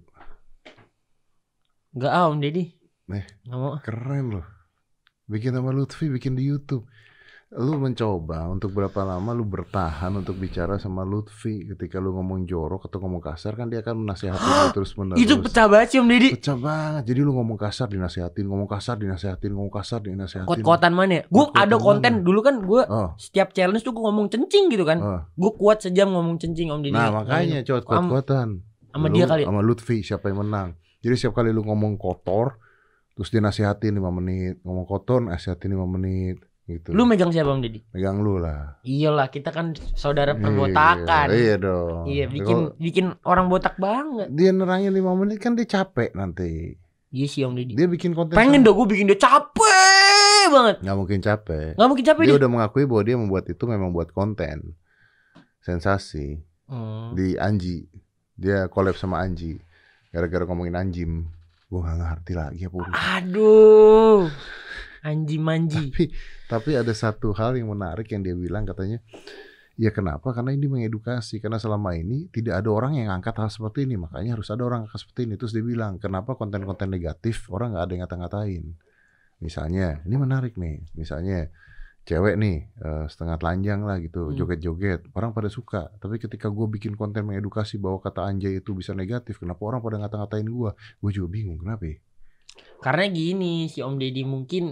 Nggak Om Deddy. Nggak mau. Keren loh. Bikin sama Lutfi bikin di YouTube. Lu mencoba untuk berapa lama lu bertahan untuk bicara sama Lutfi ketika lu ngomong jorok atau ngomong kasar kan dia akan menasihati lu terus menerus. Itu pecah banget sih Om Deddy. Pecah banget. Jadi lu ngomong kasar dinasihatin, ngomong kasar dinasihatin, ngomong kasar dinasihatin. Kuat-kuatan mana ya? Gue ada konten dulu kan gue setiap challenge tuh gue ngomong cencing gitu kan. Gue kuat sejam ngomong cencing Om Deddy. Nah makanya kuat-kuatan. Sama dia kali. Sama Lutfi siapa yang menang. Jadi setiap kali lu ngomong kotor terus dinasihatin 5 menit, ngomong kotor nasihatin 5 menit. Gitu. Lu megang siapa Om Deddy? Megang lu lah. Iyalah kita kan saudara perbotakan. Iya dong. Iya bikin orang botak banget. Dia nerangin 5 menit kan dia capek nanti. Iya sih Om Deddy. Dia bikin konten. Pengen dong gue bikin dia capek banget. Gak mungkin capek. Gak mungkin capek dia udah mengakui bahwa dia membuat itu memang buat konten. Sensasi. Di Anji. Dia collab sama Anji. Gara-gara ngomongin anjim. Gue gak ngerti lagi apa urusan. Aduh. Anji manji. Tapi ada satu hal yang menarik yang dia bilang, katanya, ya kenapa? Karena ini mengedukasi. Karena selama ini tidak ada orang yang angkat hal seperti ini. Makanya harus ada orang angkat seperti ini. Terus dia bilang, kenapa konten-konten negatif orang gak ada yang ngata-ngatain. Misalnya, ini menarik nih. Misalnya cewek nih setengah telanjang lah gitu, joget-joget. Orang pada suka. Tapi ketika gue bikin konten mengedukasi bahwa kata anjay itu bisa negatif, kenapa orang pada ngata-ngatain gue? Gue juga bingung, kenapa ya? Karena gini, si Om Deddy mungkin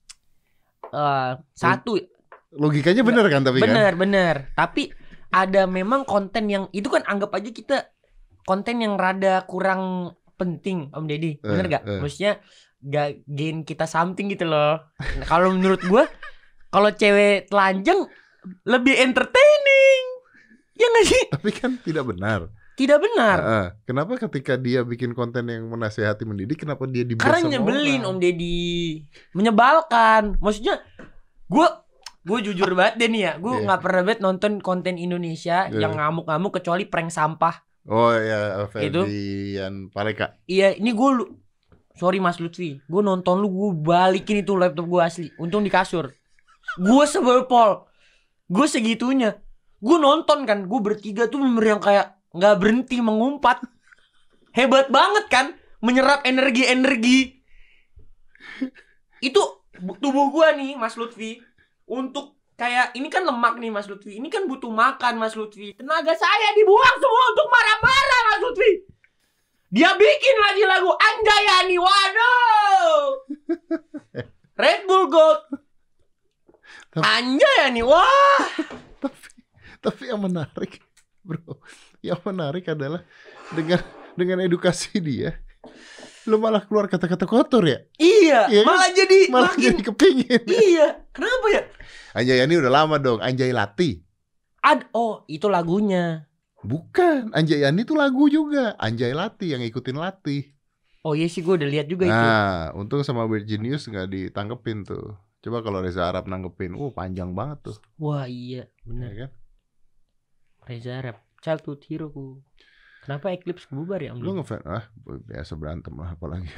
satu logikanya bener kan, tapi bener. Tapi ada memang konten yang itu kan anggap aja kita konten yang rada kurang penting, Om Deddy, bener gak? Maksudnya gak gain kita something gitu loh. Nah, kalau menurut gue, kalau cewek telanjang lebih entertaining, ya gak sih? Tapi kan tidak benar. Tidak benar. Kenapa ketika dia bikin konten yang menasehati mendidik, kenapa dia dibahas sama orang? Karena nyebelin Om Deddy, menyebalkan. Maksudnya gue jujur banget deh nih ya, gue nggak pernah banget nonton konten Indonesia yang ngamuk-ngamuk kecuali prank sampah. Oh ya, Ferdian Paleka. Iya, ini gue sorry Mas Lutfi, gue nonton lu, gue balikin itu laptop gue asli. Untung di kasur. Gue sebel pol, gue segitunya. Gue nonton kan, gue bertiga tuh bener yang kayak nggak berhenti mengumpat. Hebat banget kan, menyerap energi itu tubuh gue nih Mas Lutfi. Untuk kayak ini kan lemak nih Mas Lutfi, ini kan butuh makan Mas Lutfi. Tenaga saya dibuang semua untuk marah-marah Mas Lutfi. Dia bikin lagi lagu Anjayani, waduh. Red Bull Gold Anjayani, wah. Tapi yang menarik, bro, yang menarik adalah dengan edukasi dia, lu malah keluar kata-kata kotor ya? Iya, ya malah kan? Jadi jadi kepingin. Iya, kenapa ya? Anjayani udah lama dong, Anjay Lati. Oh, itu lagunya. Bukan, Anjayani itu lagu juga. Anjay Lati yang ikutin Lati. Oh iya sih, gue udah lihat juga itu. Nah, untung sama Virginius gak ditanggepin tuh. Coba kalau Reza Arab nanggepin, panjang banget tuh. Wah iya, benar ya kan? Reza Arab, childhood hero ku. Kenapa Eclipse bubar ya Om? Lu ngefans? Biasa berantem lah apalagi.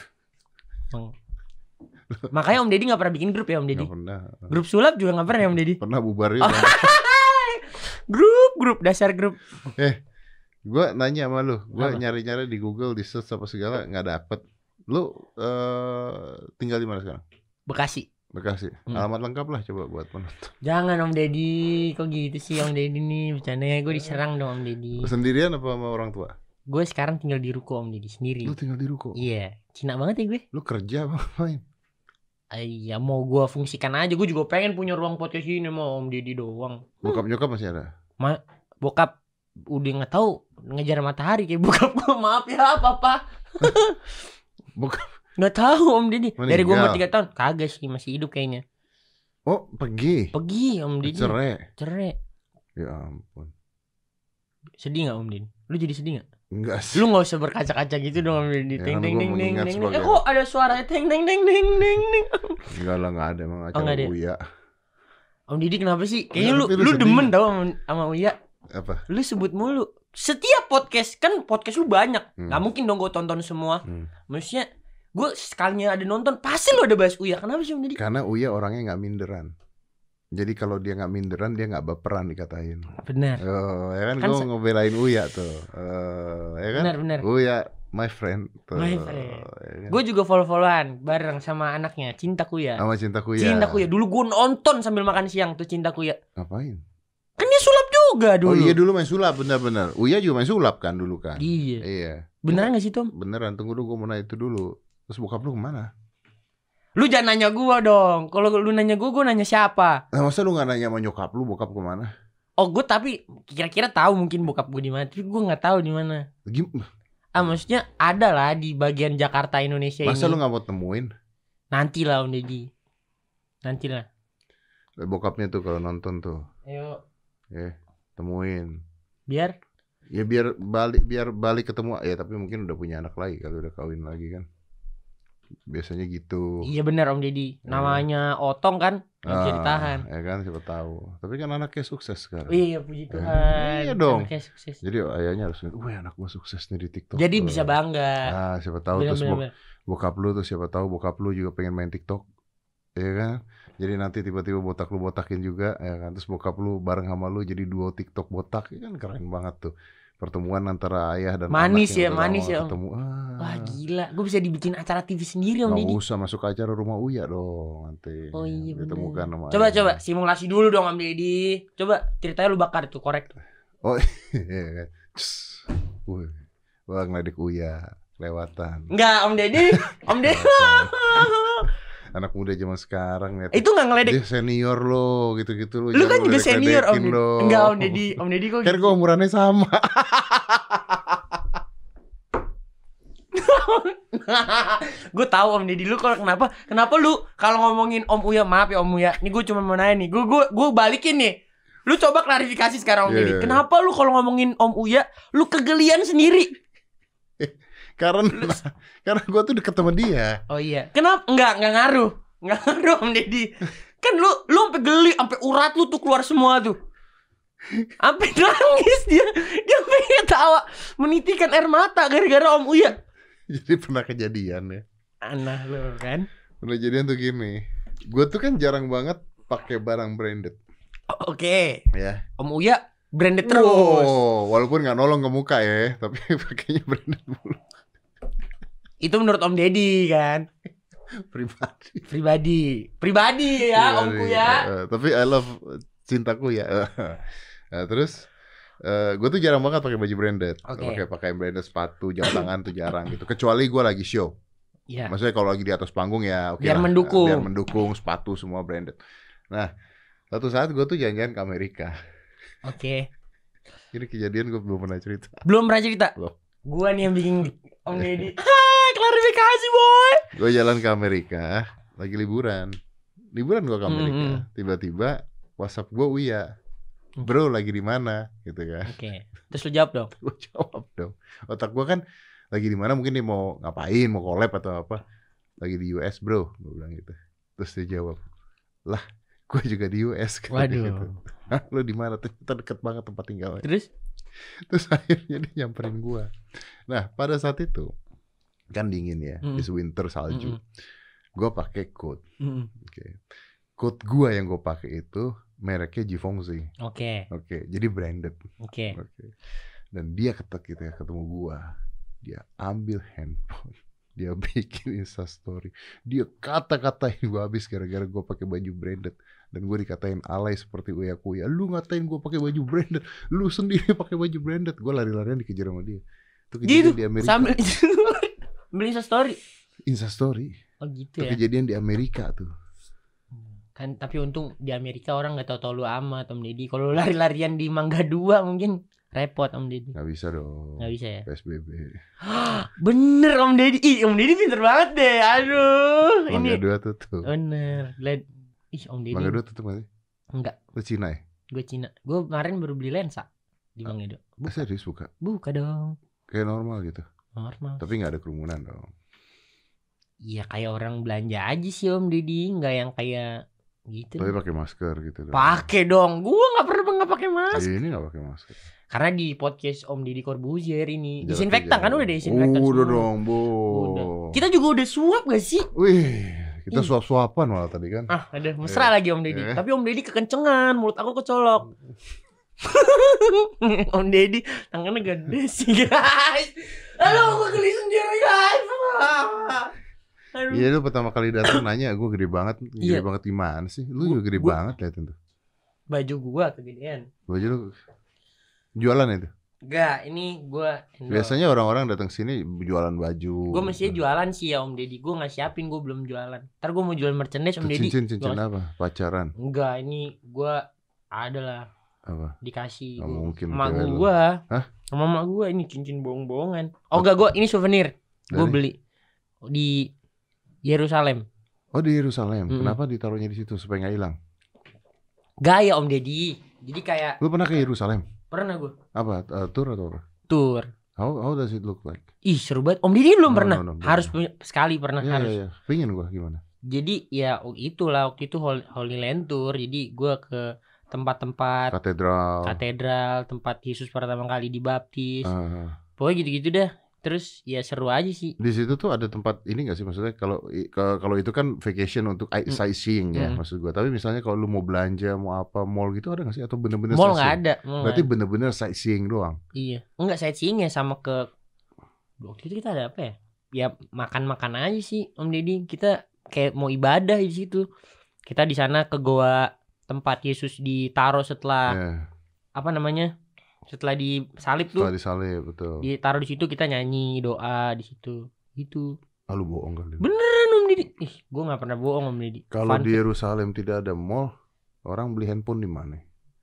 Makanya Om Deddy gak pernah bikin grup ya Om Deddy? Gak pernah. Grup sulap juga gak pernah ya Om Deddy? Pernah bubar ya. Grup, dasar grup. Gue nanya sama lu, gue nyari-nyari di Google, di search apa segala, gak dapet. Lu tinggal di mana sekarang? Bekasi. Alamat lengkap lah coba buat penonton. Jangan Om Deddy, kok gitu sih Om Deddy nih, bercandanya gue diserang dong Om Deddy. Lu sendirian apa sama orang tua? Gue sekarang tinggal di ruko Om Deddy sendiri. Lu tinggal di ruko? Iya, Cina banget ya gue. Lu kerja apa ngapain? Iya, mau gue fungsikan aja, gue juga pengen punya ruang podcast ini mau Om Deddy doang. Bokap nyokap masih ada? Bokap udah nggak tahu, ngejar matahari kayak bokap gue, maaf ya papa. Bokap nggak tahu Om Deddy. Meninggal. Dari gue umur 3 tahun kagak sih, masih hidup kayaknya. Oh pergi Om Deddy. Cerai. Ya ampun. Sedih nggak Om Deddy? Lu jadi sedih nggak? Enggak sih. Lu nggak usah berkaca-kaca gitu dong Om Deddy. Ya, Ting ting ting ting ting. sebagai... kok ada suara ting ting ting ting ting ting. Enggak lah, nggak ada, emang acara Uya. Om Deddy kenapa sih? Kayaknya lu demen tau sama Uya. Apa? Lu sebut mulu. Setiap podcast kan, podcast lu banyak. Gak mungkin dong gue tonton semua. Maksudnya gue sekalinya ada nonton pasti lu ada bahas Uya. Kenapa sih Om Deddy? Karena Uya orangnya gak minderan. Jadi kalau dia gak minderan, dia gak baperan dikatain. Benar. Ya kan gue ngebelain Uya tuh. Ya kan? Benar. Uya my friend tuh. My friend. Ya kan? Gue juga follow-followan bareng sama anaknya, Cinta Kuya. Sama Cinta Kuya. Cinta Kuya. Dulu gue nonton sambil makan siang tuh Cinta Kuya. Ngapain? Kan dia sulap juga dulu. Oh iya, dulu main sulap, benar-benar. Uya juga main sulap kan dulu kan? Iya. Beneran gak sih Tom? Beneran, tunggu dulu gue mau nanya itu dulu. Terus bokap lu kemana? Lu jangan nanya gue dong. Kalau lu nanya gue nanya siapa? Nah, masa lu gak nanya sama nyokap lu, bokap kemana? Oh gue tapi kira-kira tahu mungkin bokap gue di mana, tapi gue nggak tahu di mana. Maksudnya ada lah di bagian Jakarta Indonesia. Masa ini. lu nggak mau temuin? Nanti lah Om Deddy. Nanti lah. Bokapnya tuh kalau nonton tuh. Ayo. Temuin. Biar? Ya biar balik ketemu ya, tapi mungkin udah punya anak lagi kalau udah kawin lagi kan. biasanya gitu. Iya benar Om Deddy. Namanya Otong kan, nggak bisa ditahan. Ya kan, siapa tahu. Tapi kan anaknya sukses sekarang. Iya puji Tuhan. Iya dong. Anaknya sukses. Jadi ayahnya harus, wah anak gua sukses nih di TikTok. Jadi bisa bangga. Nah, siapa tahu terus bokap lu tuh, siapa tahu bokap lu juga pengen main TikTok. Iya kan? Jadi nanti tiba-tiba botak lu botakin juga, ya kan? Terus bokap lu bareng sama lu jadi duo TikTok botak, ya kan keren banget tuh. Pertemuan antara ayah dan manis anak manis ya ketemu. Wah gila, gue bisa dibikin acara TV sendiri Om Deddy. Nggak usah masuk acara Rumah Uya dong nanti. Oh iya ditemukan sama coba simulasi dulu dong Om Deddy. Coba ceritanya lu bakar tuh, korek. Oh iya. Wah ngeledek Uya kelewatan. Enggak Om Deddy. Om Deddy. Anak muda zaman sekarang ya. Itu nggak ngeledek. Dia senior lo, gitu-gitu lo. Lu kan juga senior Om Deddy. Enggak Om Deddy. Om Deddy kok kan gue umurannya sama. Gue tahu Om Deddy lu kalau kenapa lu kalau ngomongin Om Uya, maaf ya Om Uya. Nih gue cuma mau nanya gue balikin nih. Lu coba klarifikasi sekarang Om Deddy. Kenapa lu kalau ngomongin Om Uya, lu kegelian sendiri? Karena gue tuh deket sama dia. Oh iya. Kenapa? Enggak ngaruh Om Deddy. Kan lu sampai geli, sampai urat lu tuh keluar semua tuh. Sampai nangis dia pengen ketawa, menitikan air mata gara-gara Om Uya. Jadi pernah kejadian ya. Aneh lu kan. Pernah kejadian tuh gini. Gue tuh kan jarang banget pakai barang branded. Oke. Ya. Om Uya branded terus. Walaupun nggak nolong ke muka ya, tapi pakainya branded mulu. Itu menurut Om Deddy kan. Pribadi ya Omku ya. Tapi I love cintaku ya. Nah, terus gue tuh jarang banget pakai baju branded. Pakai branded sepatu, jam tangan tuh jarang gitu. Kecuali gue lagi show. Iya. Maksudnya kalau lagi di atas panggung ya oke biar lah. Biar mendukung sepatu semua branded. Nah, satu saat gue tuh jalan-jalan ke Amerika. Oke. Ini kejadian gue belum pernah cerita. Belum pernah cerita? Belum. Gue nih yang bikin Om Deddy. Klarifikasi boy. Gue jalan ke Amerika, lagi liburan gue ke Amerika. Tiba-tiba WhatsApp gue Uya, bro lagi di mana, gitu kan? Oke. Terus lu jawab dong. Gue jawab dong. Otak gue kan lagi di mana, mungkin dia mau ngapain, mau collab atau apa? Lagi di US bro, gue bilang gitu. Terus dia jawab, lah, gue juga di US. Waduh. Gitu. Hah, lu di mana? Ternyata deket banget tempat tinggalnya. Terus akhirnya dia nyamperin gue. Nah, pada saat itu kan dingin ya, it's winter, salju. Gue pakai coat. Oke. Coat gue yang gue pakai itu mereknya Givenchy. Oke. Jadi branded. Oke. Dan dia ketemu gue, dia ambil handphone, dia bikin Instastory, dia kata-katain gue habis gara-gara gue pakai baju branded. Dan gue dikatain alay seperti Uya Kuya. Lu ngatain gue pakai baju branded, lu sendiri pakai baju branded. Gue lari-larian dikejar sama dia. Itu kejadian di Amerika. Sambil beli Instastory. Oh gitu ya. Kejadian di Amerika tuh. Kan tapi untung di Amerika orang nggak tahu lu amat Om Deddy. Kalau lari-larian di Mangga 2 mungkin repot Om Deddy. Nggak bisa dong. Nggak bisa ya. PSBB. Bener Om Deddy. Om Deddy pinter banget deh. Aduh. Mangga 2 tutup. Bener. Om Deddy. Mangga 2 tutup nggak sih? Enggak. Lu Cina ya? Gue Cina. Gue kemarin baru beli lensa di Mangga 2. Serius buka? Buka dong. Kayak normal gitu. Normal. Tapi nggak ada kerumunan dong. Iya kayak orang belanja aja sih Om Deddy, nggak yang kayak gitu. Tapi pakai masker gitu. Pakai dong. Gua nggak pernah pakai masker. Ini nggak pakai masker. Karena di podcast Om Deddy Corbuzier ini disinfektan kan udah disinfektan. Udah dong, Bu. Udah. Kita juga udah suap gak sih? Wih, kita suap-suapan malah tadi kan. Ada mesra lagi Om Deddy. Tapi Om Deddy kekencengan, mulut aku kecolok. Om Deddy tangannya gede sih guys. Aduh, gue geli sendiri guys. Iya, lu pertama kali datang nanya gue gede banget. Gede banget gimana sih? Lu juga gede banget liatin tuh. Baju gua kegedean. Baju lu jualan itu? Enggak, ini gua biasanya orang-orang datang sini jualan baju. Gua mestinya jualan sih ya Om Deddy. Gua nggak siapin, gua belum jualan. Ntar gua mau jual merchandise Om Deddy. Cincin apa? Pacaran? Enggak, ini gua adalah apa? Dikasih mungkin sama gua. Hah? Sama mama gua ini cincin bohong-bohongan. Oh enggak, gua ini souvenir. Gua beli di Yerusalem. Oh, di Yerusalem. Kenapa ditaruhnya di situ supaya nggak hilang? Gaya Om Deddy. Jadi kayak lu pernah ke Yerusalem? Pernah gua. Apa? Tour atau apa? Tour. How does it look like? Ih seru banget. Om Didi belum pernah. Harus sekali pernah harus. Iya. Pengen gue gimana? Jadi ya itulah waktu itu Holy Land Tour. Jadi gue ke tempat-tempat katedral, tempat Yesus pertama kali dibaptis. Pokoknya gitu-gitu dah. Terus ya seru aja sih. Di situ tuh ada tempat ini nggak sih, maksudnya kalau itu kan vacation untuk sightseeing ya maksud gue. Tapi misalnya kalau lu mau belanja, mau apa, mall gitu ada nggak sih, atau bener-bener mall nggak ada? Berarti bener-bener sightseeing doang. Iya, enggak sightseeing ya, sama ke waktu itu kita ada apa ya? Ya makan aja sih Om Deddy. Kita kayak mau ibadah di situ. Kita di sana ke goa tempat Yesus ditaruh setelah apa namanya? Setelah disalib tuh. Setelah disalib, betul. Ditaruh di situ, kita nyanyi doa di situ. Gitu. Ah, lu bohong kali. Beneran Om Deddy. Gue enggak pernah bohong Om Deddy. Kalau di Yerusalem tidak ada mall, orang beli handphone di mana?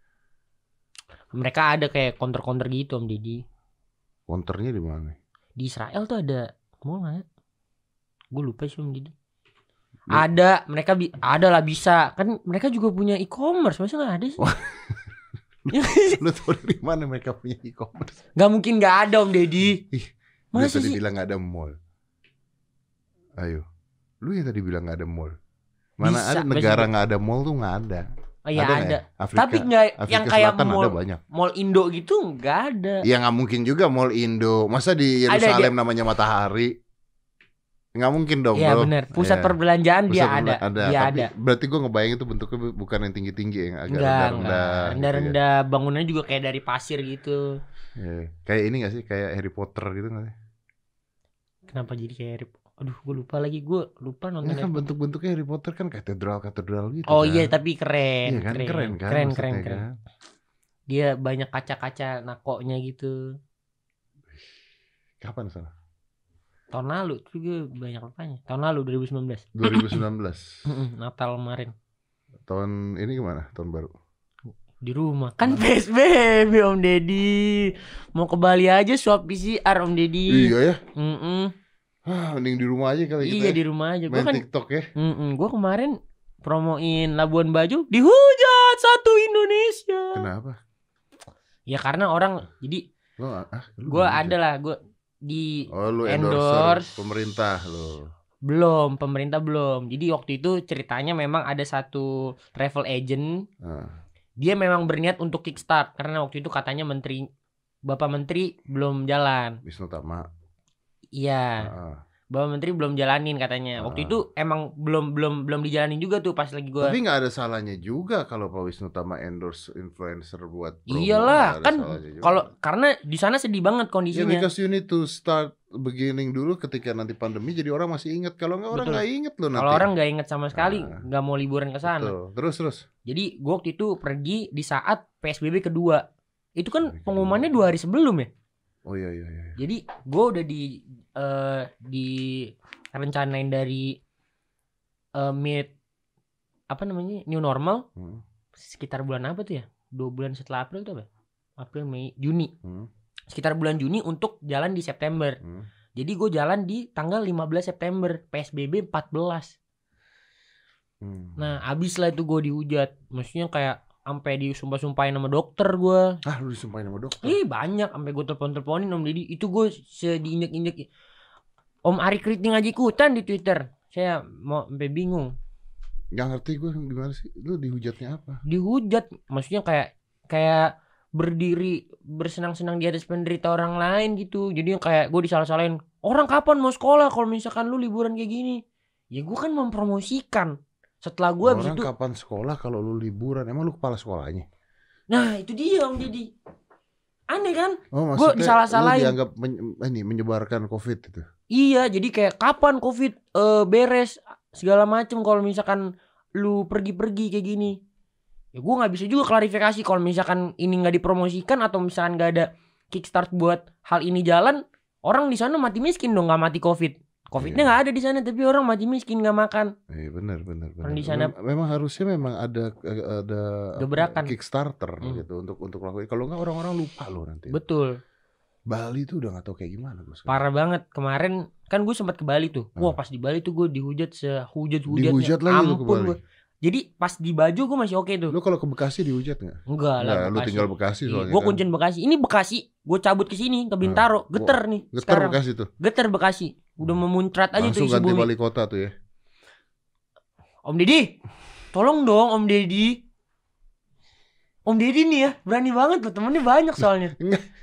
Mereka ada kayak counter gitu Om Deddy. Counternya di mana? Di Israel tuh ada mall enggak? Gue lupa sih Om Deddy. Ada, mereka ada lah bisa. Kan mereka juga punya e-commerce, masa enggak ada sih? Lu tau dari mana mereka punya e-commerce? Gak mungkin gak ada Om Deddy. Masa tadi bilang gak ada mall. Ayo, lu yang tadi bilang gak ada mall. Mana bisa, ada negara gak ada mall tuh gak ada. Oh iya ada. Afrika, tapi gak yang kayak mall Indo gitu gak ada. Ya gak mungkin juga mall Indo. Masa di Yerusalem namanya Matahari? Nggak mungkin dong. Iya benar. Pusat perbelanjaan dia ada. Dia ada. Berarti gue ngebayangin itu bentuknya bukan yang tinggi-tinggi, yang agak rendah-rendah. Rendah-rendah. Gitu ya. Bangunannya juga kayak dari pasir gitu. Ya. Kayak ini nggak sih? Kayak Harry Potter gitu nggak sih? Kenapa jadi kayak Harry Potter? Aduh, gue lupa lagi. Gue lupa nonton. Ya kan bentuk-bentuknya Harry Potter kan katedral gitu. Oh kan? iya, tapi keren. Iya kan? Keren kan? Keren. Kan? Dia banyak kaca-kaca nakoknya gitu. Kapan sana? Tahun lalu juga banyak apanya. Tahun lalu 2019. 2019. Natal kemarin. Tahun ini gimana? Tahun baru. Di rumah. Kan PSBB Om Deddy. Mau ke Bali aja swab PCR Om Deddy. Iya ya. Mending di rumah aja kali kita. Iya di rumah aja. Main TikTok ya. Gue kemarin promoin Labuan Bajo, dihujat satu Indonesia. Kenapa? Ya karena orang jadi. Gue adalah lu endorse pemerintah lo. Pemerintah belum. Jadi waktu itu ceritanya memang ada satu travel agent. Dia memang berniat untuk kickstart karena waktu itu katanya Bapak Menteri belum jalan. Wisnu Tama. Iya. Bapak Menteri belum jalanin katanya. Waktu itu emang belum dijalanin juga tuh pas lagi gue. Tapi nggak ada salahnya juga kalau Pak Wisnu Tama endorse influencer buat promo. Iyalah kan kalau karena di sana sedih banget kondisinya. Because you need to start beginning dulu ketika nanti pandemi, jadi orang masih ingat. Kalau nggak orang nggak inget loh nanti. Kalau orang nggak inget sama sekali, nggak mau liburan ke sana. Terus. Jadi gue waktu itu pergi di saat PSBB kedua. Itu kan pengumumannya 2 hari sebelum ya. Oh iya. Jadi gue udah di rencanain dari new normal sekitar bulan apa tuh ya? 2 bulan setelah April tuh apa? April, Mei, Juni. Sekitar bulan Juni untuk jalan di September. Jadi gue jalan di tanggal 15 September, PSBB 14. Nah, abis lah itu gue dihujat. Maksudnya kayak sampai disumpah-sumpahin sama dokter gue. Lu disumpahin sama dokter? Banyak, sampai gue telepon-teleponin Om Deddy. Itu gue diinjek-injek. Om Ari Kriting aja ikutan di Twitter. Saya mau sampai bingung. Gak ngerti gue gimana sih. Lu dihujatnya apa? Dihujat, maksudnya kayak berdiri bersenang-senang di atas penderita orang lain gitu. Jadi kayak gue disalah-salahin. Orang kapan mau sekolah kalau misalkan lu liburan kayak gini? Ya gue kan mempromosikan. Setelah gue habis itu. Orang kapan sekolah kalau lu liburan? Emang lu kepala sekolahnya? Nah itu dia Om Deddy. Aneh kan? Gue disalah-salahin. Lu dianggap menyebarkan COVID itu. Iya, jadi kayak kapan COVID beres segala macem kalau misalkan lu pergi-pergi kayak gini. Ya gue nggak bisa juga klarifikasi kalau misalkan ini nggak dipromosikan atau misalkan nggak ada kickstart buat hal ini jalan, orang di sana mati miskin dong, nggak mati COVID. COVID-nya nggak ada di sana, tapi orang mati miskin nggak makan. Benar. Di sana memang harusnya ada gebrakan Kickstarter gitu untuk lakukan. Kalau nggak orang-orang lupa loh nanti. Betul. Bali tuh udah nggak tahu kayak gimana gue. Parah banget kemarin kan gue sempat ke Bali tuh. Wah pas di Bali tuh gue dihujat sehujat-hujatnya. Dihujat lagi lu ke Bali. Jadi pas di Bajo gue masih oke tuh. Lu kalau ke Bekasi dihujat nggak? Enggak lah. Lu tinggal Bekasi soalnya. Gue kuncin Bekasi. Ini Bekasi. gue cabut ke sini ke Bintaro, geter nih. Geter sekarang. Bekasi tuh. Geter Bekasi. Udah memuncrat aja langsung tuh isi ganti bumi. wali kota tuh ya. Om Deddy, tolong dong Om Deddy. Om Deddy nih ya, berani banget loh, temennya banyak soalnya.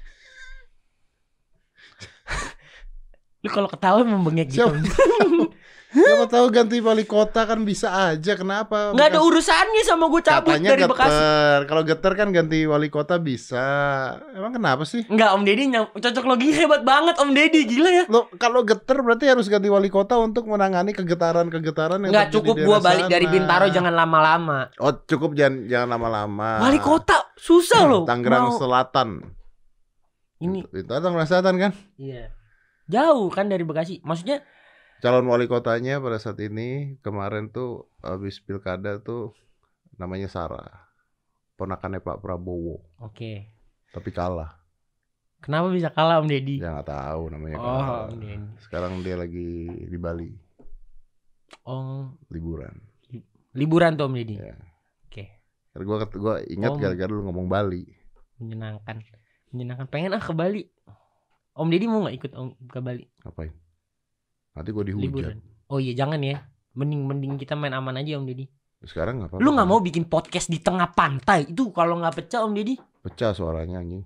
Lu kalau ketawa membengek gitu. Siapa tahu ganti wali kota kan bisa aja, kenapa? Nggak ada urusannya sama gue cabut katanya dari Bekasi. Kalau geter kan ganti wali kota bisa. Emang kenapa sih? Enggak, Om Deddy cocok logi hebat banget Om Deddy, gila ya. Lo kalau geter berarti harus ganti wali kota untuk menangani kegetaran-kegetaran yang nggak cukup gua balik dari Bintaro jangan lama-lama. Oh, cukup jangan lama-lama. Wali kota susah loh. Tangerang Selatan. Ini itu Tangerang Selatan kan? Iya. Jauh kan dari Bekasi. Maksudnya calon wali kotanya pada saat ini kemarin tuh habis pilkada tuh namanya Sarah, ponakannya Pak Prabowo. Oke. Tapi kalah. Kenapa bisa kalah Om Deddy? Ya nggak tahu namanya. Om Deddy. Sekarang dia lagi di Bali. Oh. Liburan tuh Om Deddy. Ya. Oke. Gua ingat gara-gara lu ngomong Bali. Menyenangkan. Pengen ke Bali. Om Deddy mau nggak ikut ke Bali? Ngapain? Nanti gue dihujat. Liburan. Oh iya jangan ya. Mending kita main aman aja Om Deddy. Sekarang nggak apa-apa. Lu nggak mau bikin podcast di tengah pantai? Itu kalau nggak pecah Om Deddy? Pecah suaranya anjing.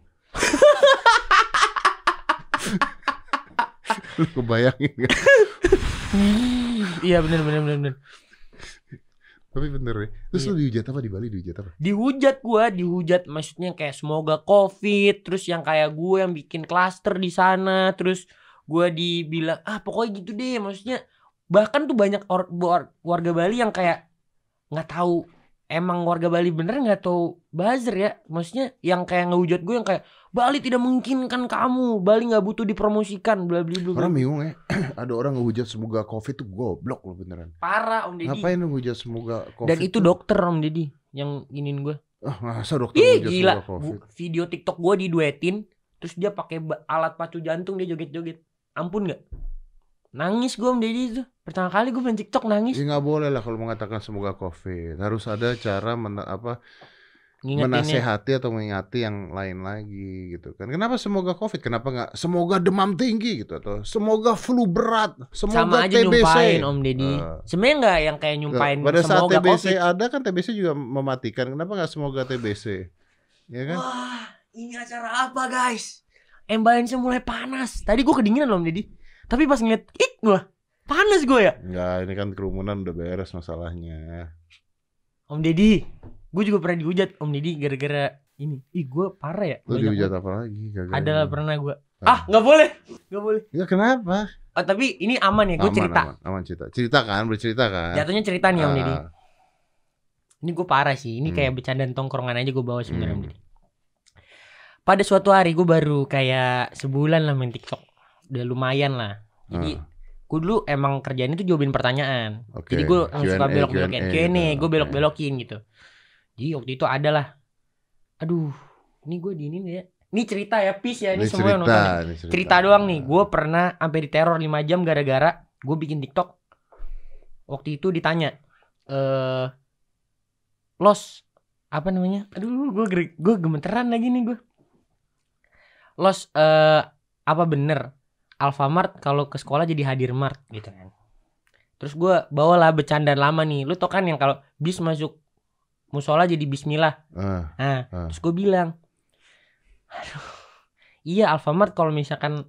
Lu kebayangin gak? Iya bener. Tapi bener ya. Terus lu dihujat apa di Bali? Dihujat maksudnya kayak semoga COVID. Terus yang kayak gue yang bikin klaster di sana. Terus gue dibilang pokoknya gitu deh. Maksudnya bahkan tuh banyak warga Bali yang kayak nggak tahu emang warga Bali bener nggak tahu buzzer ya. Maksudnya yang kayak ngehujat gue yang kayak Bali tidak memungkinkan kamu, Bali nggak butuh dipromosikan, bla bla bla. Orang bingung ya. Ada orang ngehujat semoga COVID tuh goblok loh beneran. Parah Om Deddy. Ngapain ngehujat semoga COVID? Dan itu dokter Om Deddy yang giniin gue. Masa dokter ngehujat gila. semoga COVID? Video TikTok gue diduetin, terus dia pakai alat pacu jantung, dia joget-joget. Ampun nggak? Nangis gue Om Deddy itu. Pertama kali gue main TikTok nangis. Ya nggak boleh lah kalau mengatakan semoga COVID. Harus ada cara menasehati atau mengingati yang lain lagi gitu kan. Kenapa semoga COVID? Kenapa nggak semoga demam tinggi gitu atau semoga flu berat, semoga sama aja TBC. Nyumpain Om Deddy. Sebenarnya nggak yang kayak nyumpain pada saat semoga TBC COVID. ada kan TBC juga mematikan. Kenapa nggak semoga TBC? Ya kan? Wah, ini acara apa guys? Balance mulai panas. Tadi gue kedinginan Om Deddy. Tapi pas ngeliat gue panas gue ya. Enggak, ini kan kerumunan udah beres masalahnya. Om Deddy, gue juga pernah dihujat Om Deddy gara-gara ini. Gue parah ya. Lu dihujat apa lagi? Adalah pernah gue. Nggak boleh. Ya kenapa? Oh tapi ini aman ya, gue cerita. Aman cerita. Bercerita kan. Jatuhnya cerita nih Om Deddy. Ini gue parah sih. Ini kayak bercandaan tongkrongan aja gue bawa sebenarnya Om Deddy. Pada suatu hari gue baru kayak sebulan lah main TikTok. Udah lumayan lah. Jadi gue dulu emang kerjaan itu jawabin pertanyaan. Jadi gue suka belok-belokin Q&A, gue belok-belokin gitu. Jadi waktu itu adalah, aduh, ini gue diinin ya. Ini cerita ya, peace ya, ini semua yang nonton. Cerita doang nih. Gue pernah sampai diteror 5 jam gara-gara gue bikin TikTok. Waktu itu ditanya, Los, apa namanya? Aduh, gue gemeteran lagi nih gue. Los, apa bener Alfamart kalau ke sekolah jadi Hadirmart gitu kan. Terus gue bawalah bercandaan lama nih. Lu tau kan yang kalau bis masuk musola jadi bismillah. Terus gue bilang, aduh, iya Alfamart kalau misalkan,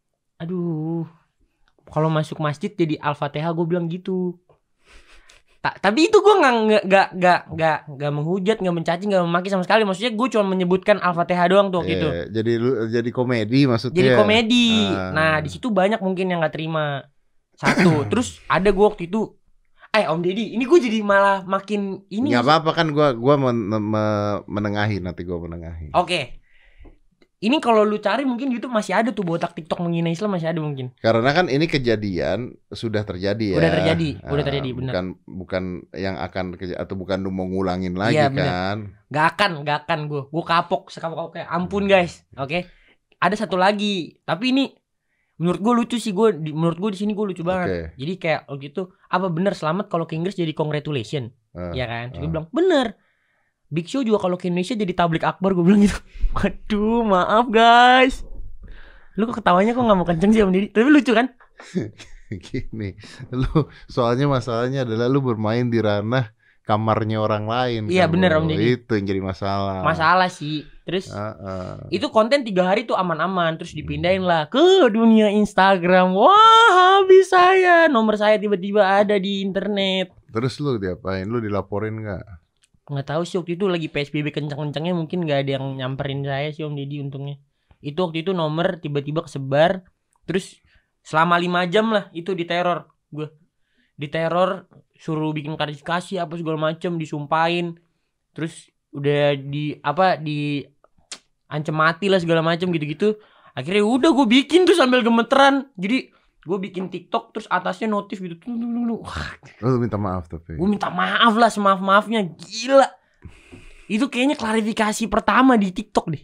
kalau masuk masjid jadi Al-Fatihah, gue bilang gitu. Tapi itu gue nggak menghujat, nggak mencaci, nggak memaki sama sekali. Maksudnya gue cuma menyebutkan Al-Fatihah doang tuh gitu. Jadi komedi maksudnya. Jadi komedi. Nah di situ banyak mungkin yang nggak terima. Satu. Terus ada gue waktu itu, Om Deddy, ini gue jadi malah makin ini. Nggak apa-apa kan, gue menengahi, nanti gue menengahi. Oke. Ini kalau lu cari mungkin YouTube masih ada tuh botak TikTok menghina Islam, masih ada mungkin. Karena kan ini kejadian sudah terjadi ya. Udah terjadi benar. Bukan yang akan atau bukan lu mau ngulangin lagi kan. Gak akan gue kapok sekapok-kapoknya. Ampun guys. Oke. Ada satu lagi, tapi ini menurut gue lucu sih, menurut gue di sini gue lucu banget. Jadi kayak gitu, apa bener selamat kalau ke Inggris jadi congratulation? Ya kan? Terus gue bilang, bener. Big Show juga kalau ke Indonesia jadi tablik akbar, gue bilang gitu. Waduh, maaf guys. Lu kok ketawanya kok gak mau kenceng sih Om Deddy? Tapi lucu kan? Gini, soalnya masalahnya adalah lu bermain di ranah kamarnya orang lain. Iya kan, bener Om Deddy. Itu yang jadi masalah. Masalah sih. Terus itu konten 3 hari tuh aman-aman. Terus dipindahin lah ke dunia Instagram. Wah, habis saya. Nomor saya tiba-tiba ada di internet. Terus lu diapain? Lu dilaporin gak? Nggak tahu sih, waktu itu lagi PSBB kencang-kencangnya, mungkin gak ada yang nyamperin saya sih Om Deddy untungnya. Itu waktu itu nomor tiba-tiba kesebar. Terus selama 5 jam lah itu diteror. Gue diteror, suruh bikin klarifikasi apa segala macem, disumpahin. Terus udah di ancam mati lah segala macem gitu-gitu. Akhirnya udah gue bikin tuh sambil gemeteran. Jadi gue bikin TikTok terus atasnya notif gitu. Lu minta maaf tapi. Gue minta maaf lah semaaf-maafnya. Gila. Itu kayaknya klarifikasi pertama di TikTok deh.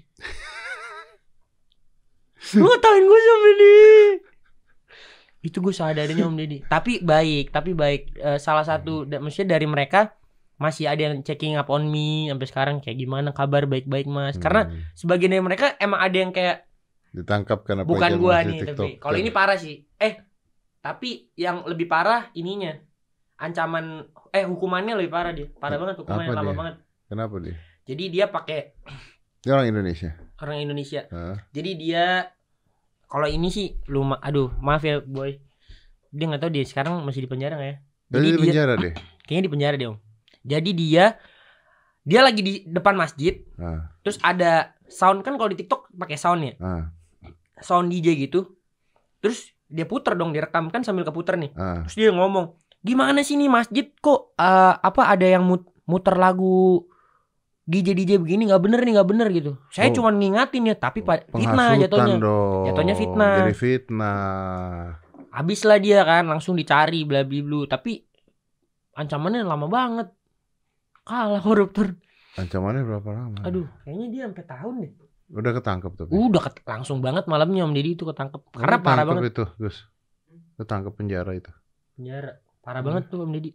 Lu ngatain gue sampai nih. Itu gue sadarinnya Om Deddy. Tapi baik. Salah satu maksudnya dari mereka masih ada yang checking up on me sampai sekarang, kayak gimana kabar, baik-baik Mas. Karena sebagian dari mereka emang ada yang kayak ditangkap karena bukan gua nih TikTok, tapi kalau ini parah sih. Tapi yang lebih parah ininya. Ancaman hukumannya lebih parah dia. Parah banget hukumannya, lama banget. Kenapa dia? Jadi dia pakai, dia orang Indonesia. Orang Indonesia. Jadi dia kalau ini sih aduh, maaf ya boy. Dia enggak tahu dia sekarang masih di penjara enggak ya? Jadi di penjara deh. Kayaknya di penjara deh, Om. Jadi dia lagi di depan masjid. Terus ada sound, kan kalau di TikTok pakai sound ya. Sound DJ gitu. Terus dia puter dong, direkam kan sambil keputer nih. Terus dia ngomong, "Gimana sih nih masjid kok ada yang muter lagu DJ begini, nggak bener gitu." Saya cuma ngingatin ya, tapi fitnah jatuhnya. Jatuhnya fitnah. Jadi fitnah. Habis lah dia kan, langsung dicari bla bla bla. Tapi ancamannya lama banget. Kalah koruptor. Ancamannya berapa lama? Aduh, kayaknya dia sampai tahun deh. Udah ketangkep tapi. Langsung banget malamnya Om Deddy itu ketangkep. Karena parah banget itu, Gus. Ketangkep penjara itu. Penjara. Parah banget tuh Om Deddy.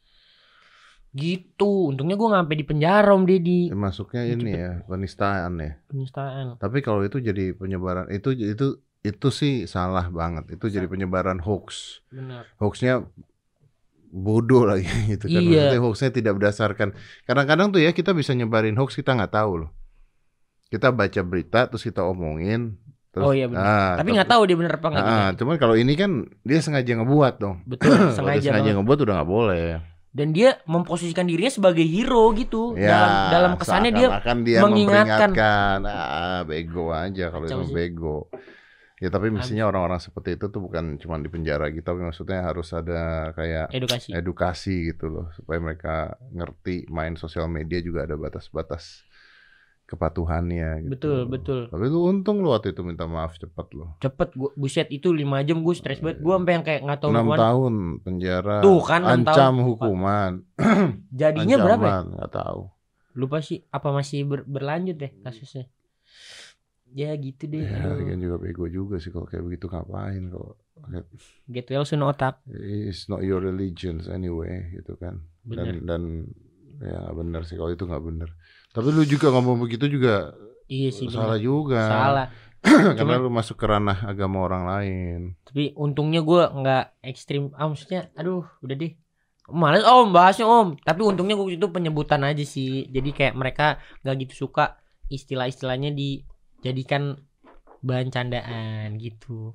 Gitu. Untungnya gue gak sampai di penjara Om Deddy. Masuknya ini ya, penistaan ya. Penistaan. Tapi kalau itu jadi penyebaran, itu sih salah banget. Itu jadi penyebaran hoax. Benar. Hoaxnya bodoh lagi gitu kan. Iya. Maksudnya hoaxnya tidak berdasarkan. Kadang-kadang tuh ya kita bisa nyebarin hoax, kita nggak tahu loh. Kita baca berita terus kita omongin. Terus, iya benar. Tapi nggak tahu dia benar apa nggak. Cuman kalau ini kan dia sengaja ngebuat dong. Betul. Sengaja ngebuat udah nggak boleh. Dan dia memposisikan dirinya sebagai hero gitu. Ya, dalam kesannya dia mengingatkan. Bego aja kalau itu bego. Ya tapi mestinya orang-orang seperti itu tuh bukan cuma di penjara gitu, tapi maksudnya harus ada kayak edukasi gitu loh, supaya mereka ngerti main sosial media juga ada batas-batas kepatuhannya gitu. Betul. Tapi lu untung lu waktu itu minta maaf cepet lo. Cepet, buset itu 5 jam gue stres banget. Gue sampai yang kayak nggak tahu 6 tahun penjara. Tuh kan 6 ancam tahun. Hukuman. Jadinya berapa ya? Nggak tahu. Lupa sih, apa masih berlanjut deh kasusnya. Ya gitu deh. Ya kan juga bego juga sih kalau kayak begitu, ngapain kalau get well soon otak. It's not your religion anyway gitu kan. Dan ya gak benar sih kalau itu gak benar. Tapi lu juga ngomong begitu juga. Iya sih, salah bener. Juga. Salah. Karena lu masuk ke ranah agama orang lain. Tapi untungnya gue gak ekstrim. Maksudnya aduh udah deh. Males Om bahasnya Om. Tapi untungnya gue itu penyebutan aja sih. Jadi kayak mereka gak gitu suka istilah-istilahnya dijadikan bahan candaan gitu.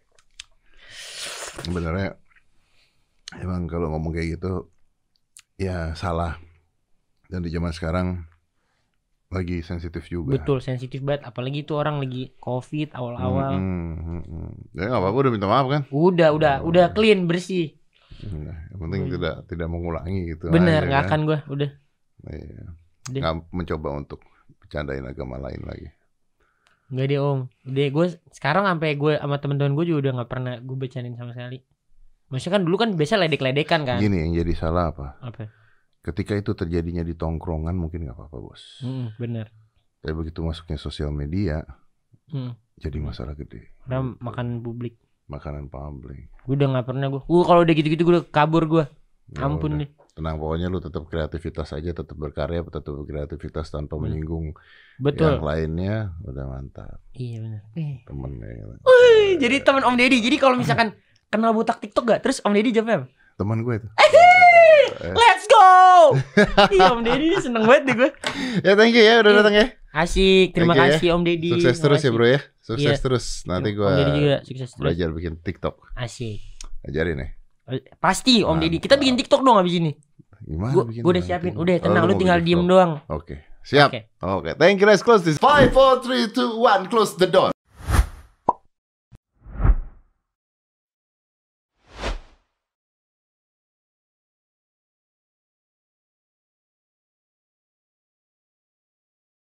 Sebenarnya emang kalau ngomong kayak gitu ya salah. Dan di zaman sekarang lagi sensitif juga. Betul, sensitif banget. Apalagi itu orang lagi COVID awal-awal. Ya nggak apa-apa, udah minta maaf kan? Udah clean, bersih. Nah, yang penting tidak mengulangi gitu. Bener, nggak akan gue, udah. Iya. Nggak mencoba untuk bercandain agama lain lagi. Nggak deh Om. Udah gue sekarang sampai gue sama teman-teman gue juga udah nggak pernah gue bercandain sama sekali. Maksudnya kan dulu kan biasa ledek-ledekan kan. Gini yang jadi salah apa? Apa? Ketika itu terjadinya di tongkrongan mungkin nggak apa-apa bos. Bener. Tapi begitu masuknya sosial media, jadi masalah gede. Udah makanan publik. Makanan publik. Gue udah nggak pernah gue kalau udah gitu-gitu gue udah kabur gue. Ampun deh. Tenang, pokoknya lu tetap kreativitas aja, tetap berkarya, tetap berkreativitas tanpa menyinggung yang lainnya. Udah mantap. Iya benar. Temennya. Jadi teman Om Deddy. Jadi kalau misalkan kenal botak TikTok gak? Terus Om Deddy jawabnya apa? Teman gue itu. Let's go. Iya Om Deddy seneng banget deh gue. Ya thank you ya udah datang ya. Asik, terima kasih Om Deddy. Sukses terus ya bro ya. Sukses terus. Nanti gue belajar bikin TikTok. Asik. Ajarin ya. Pasti Om Deddy. Kita bikin TikTok dong abis ini. Gimana? Gue udah siapin. Udah tenang, lu tinggal diem doang. Oke. Siap. Oke. Thank you. Let's close this. 5, 4, 3, 2, 1. Close the door.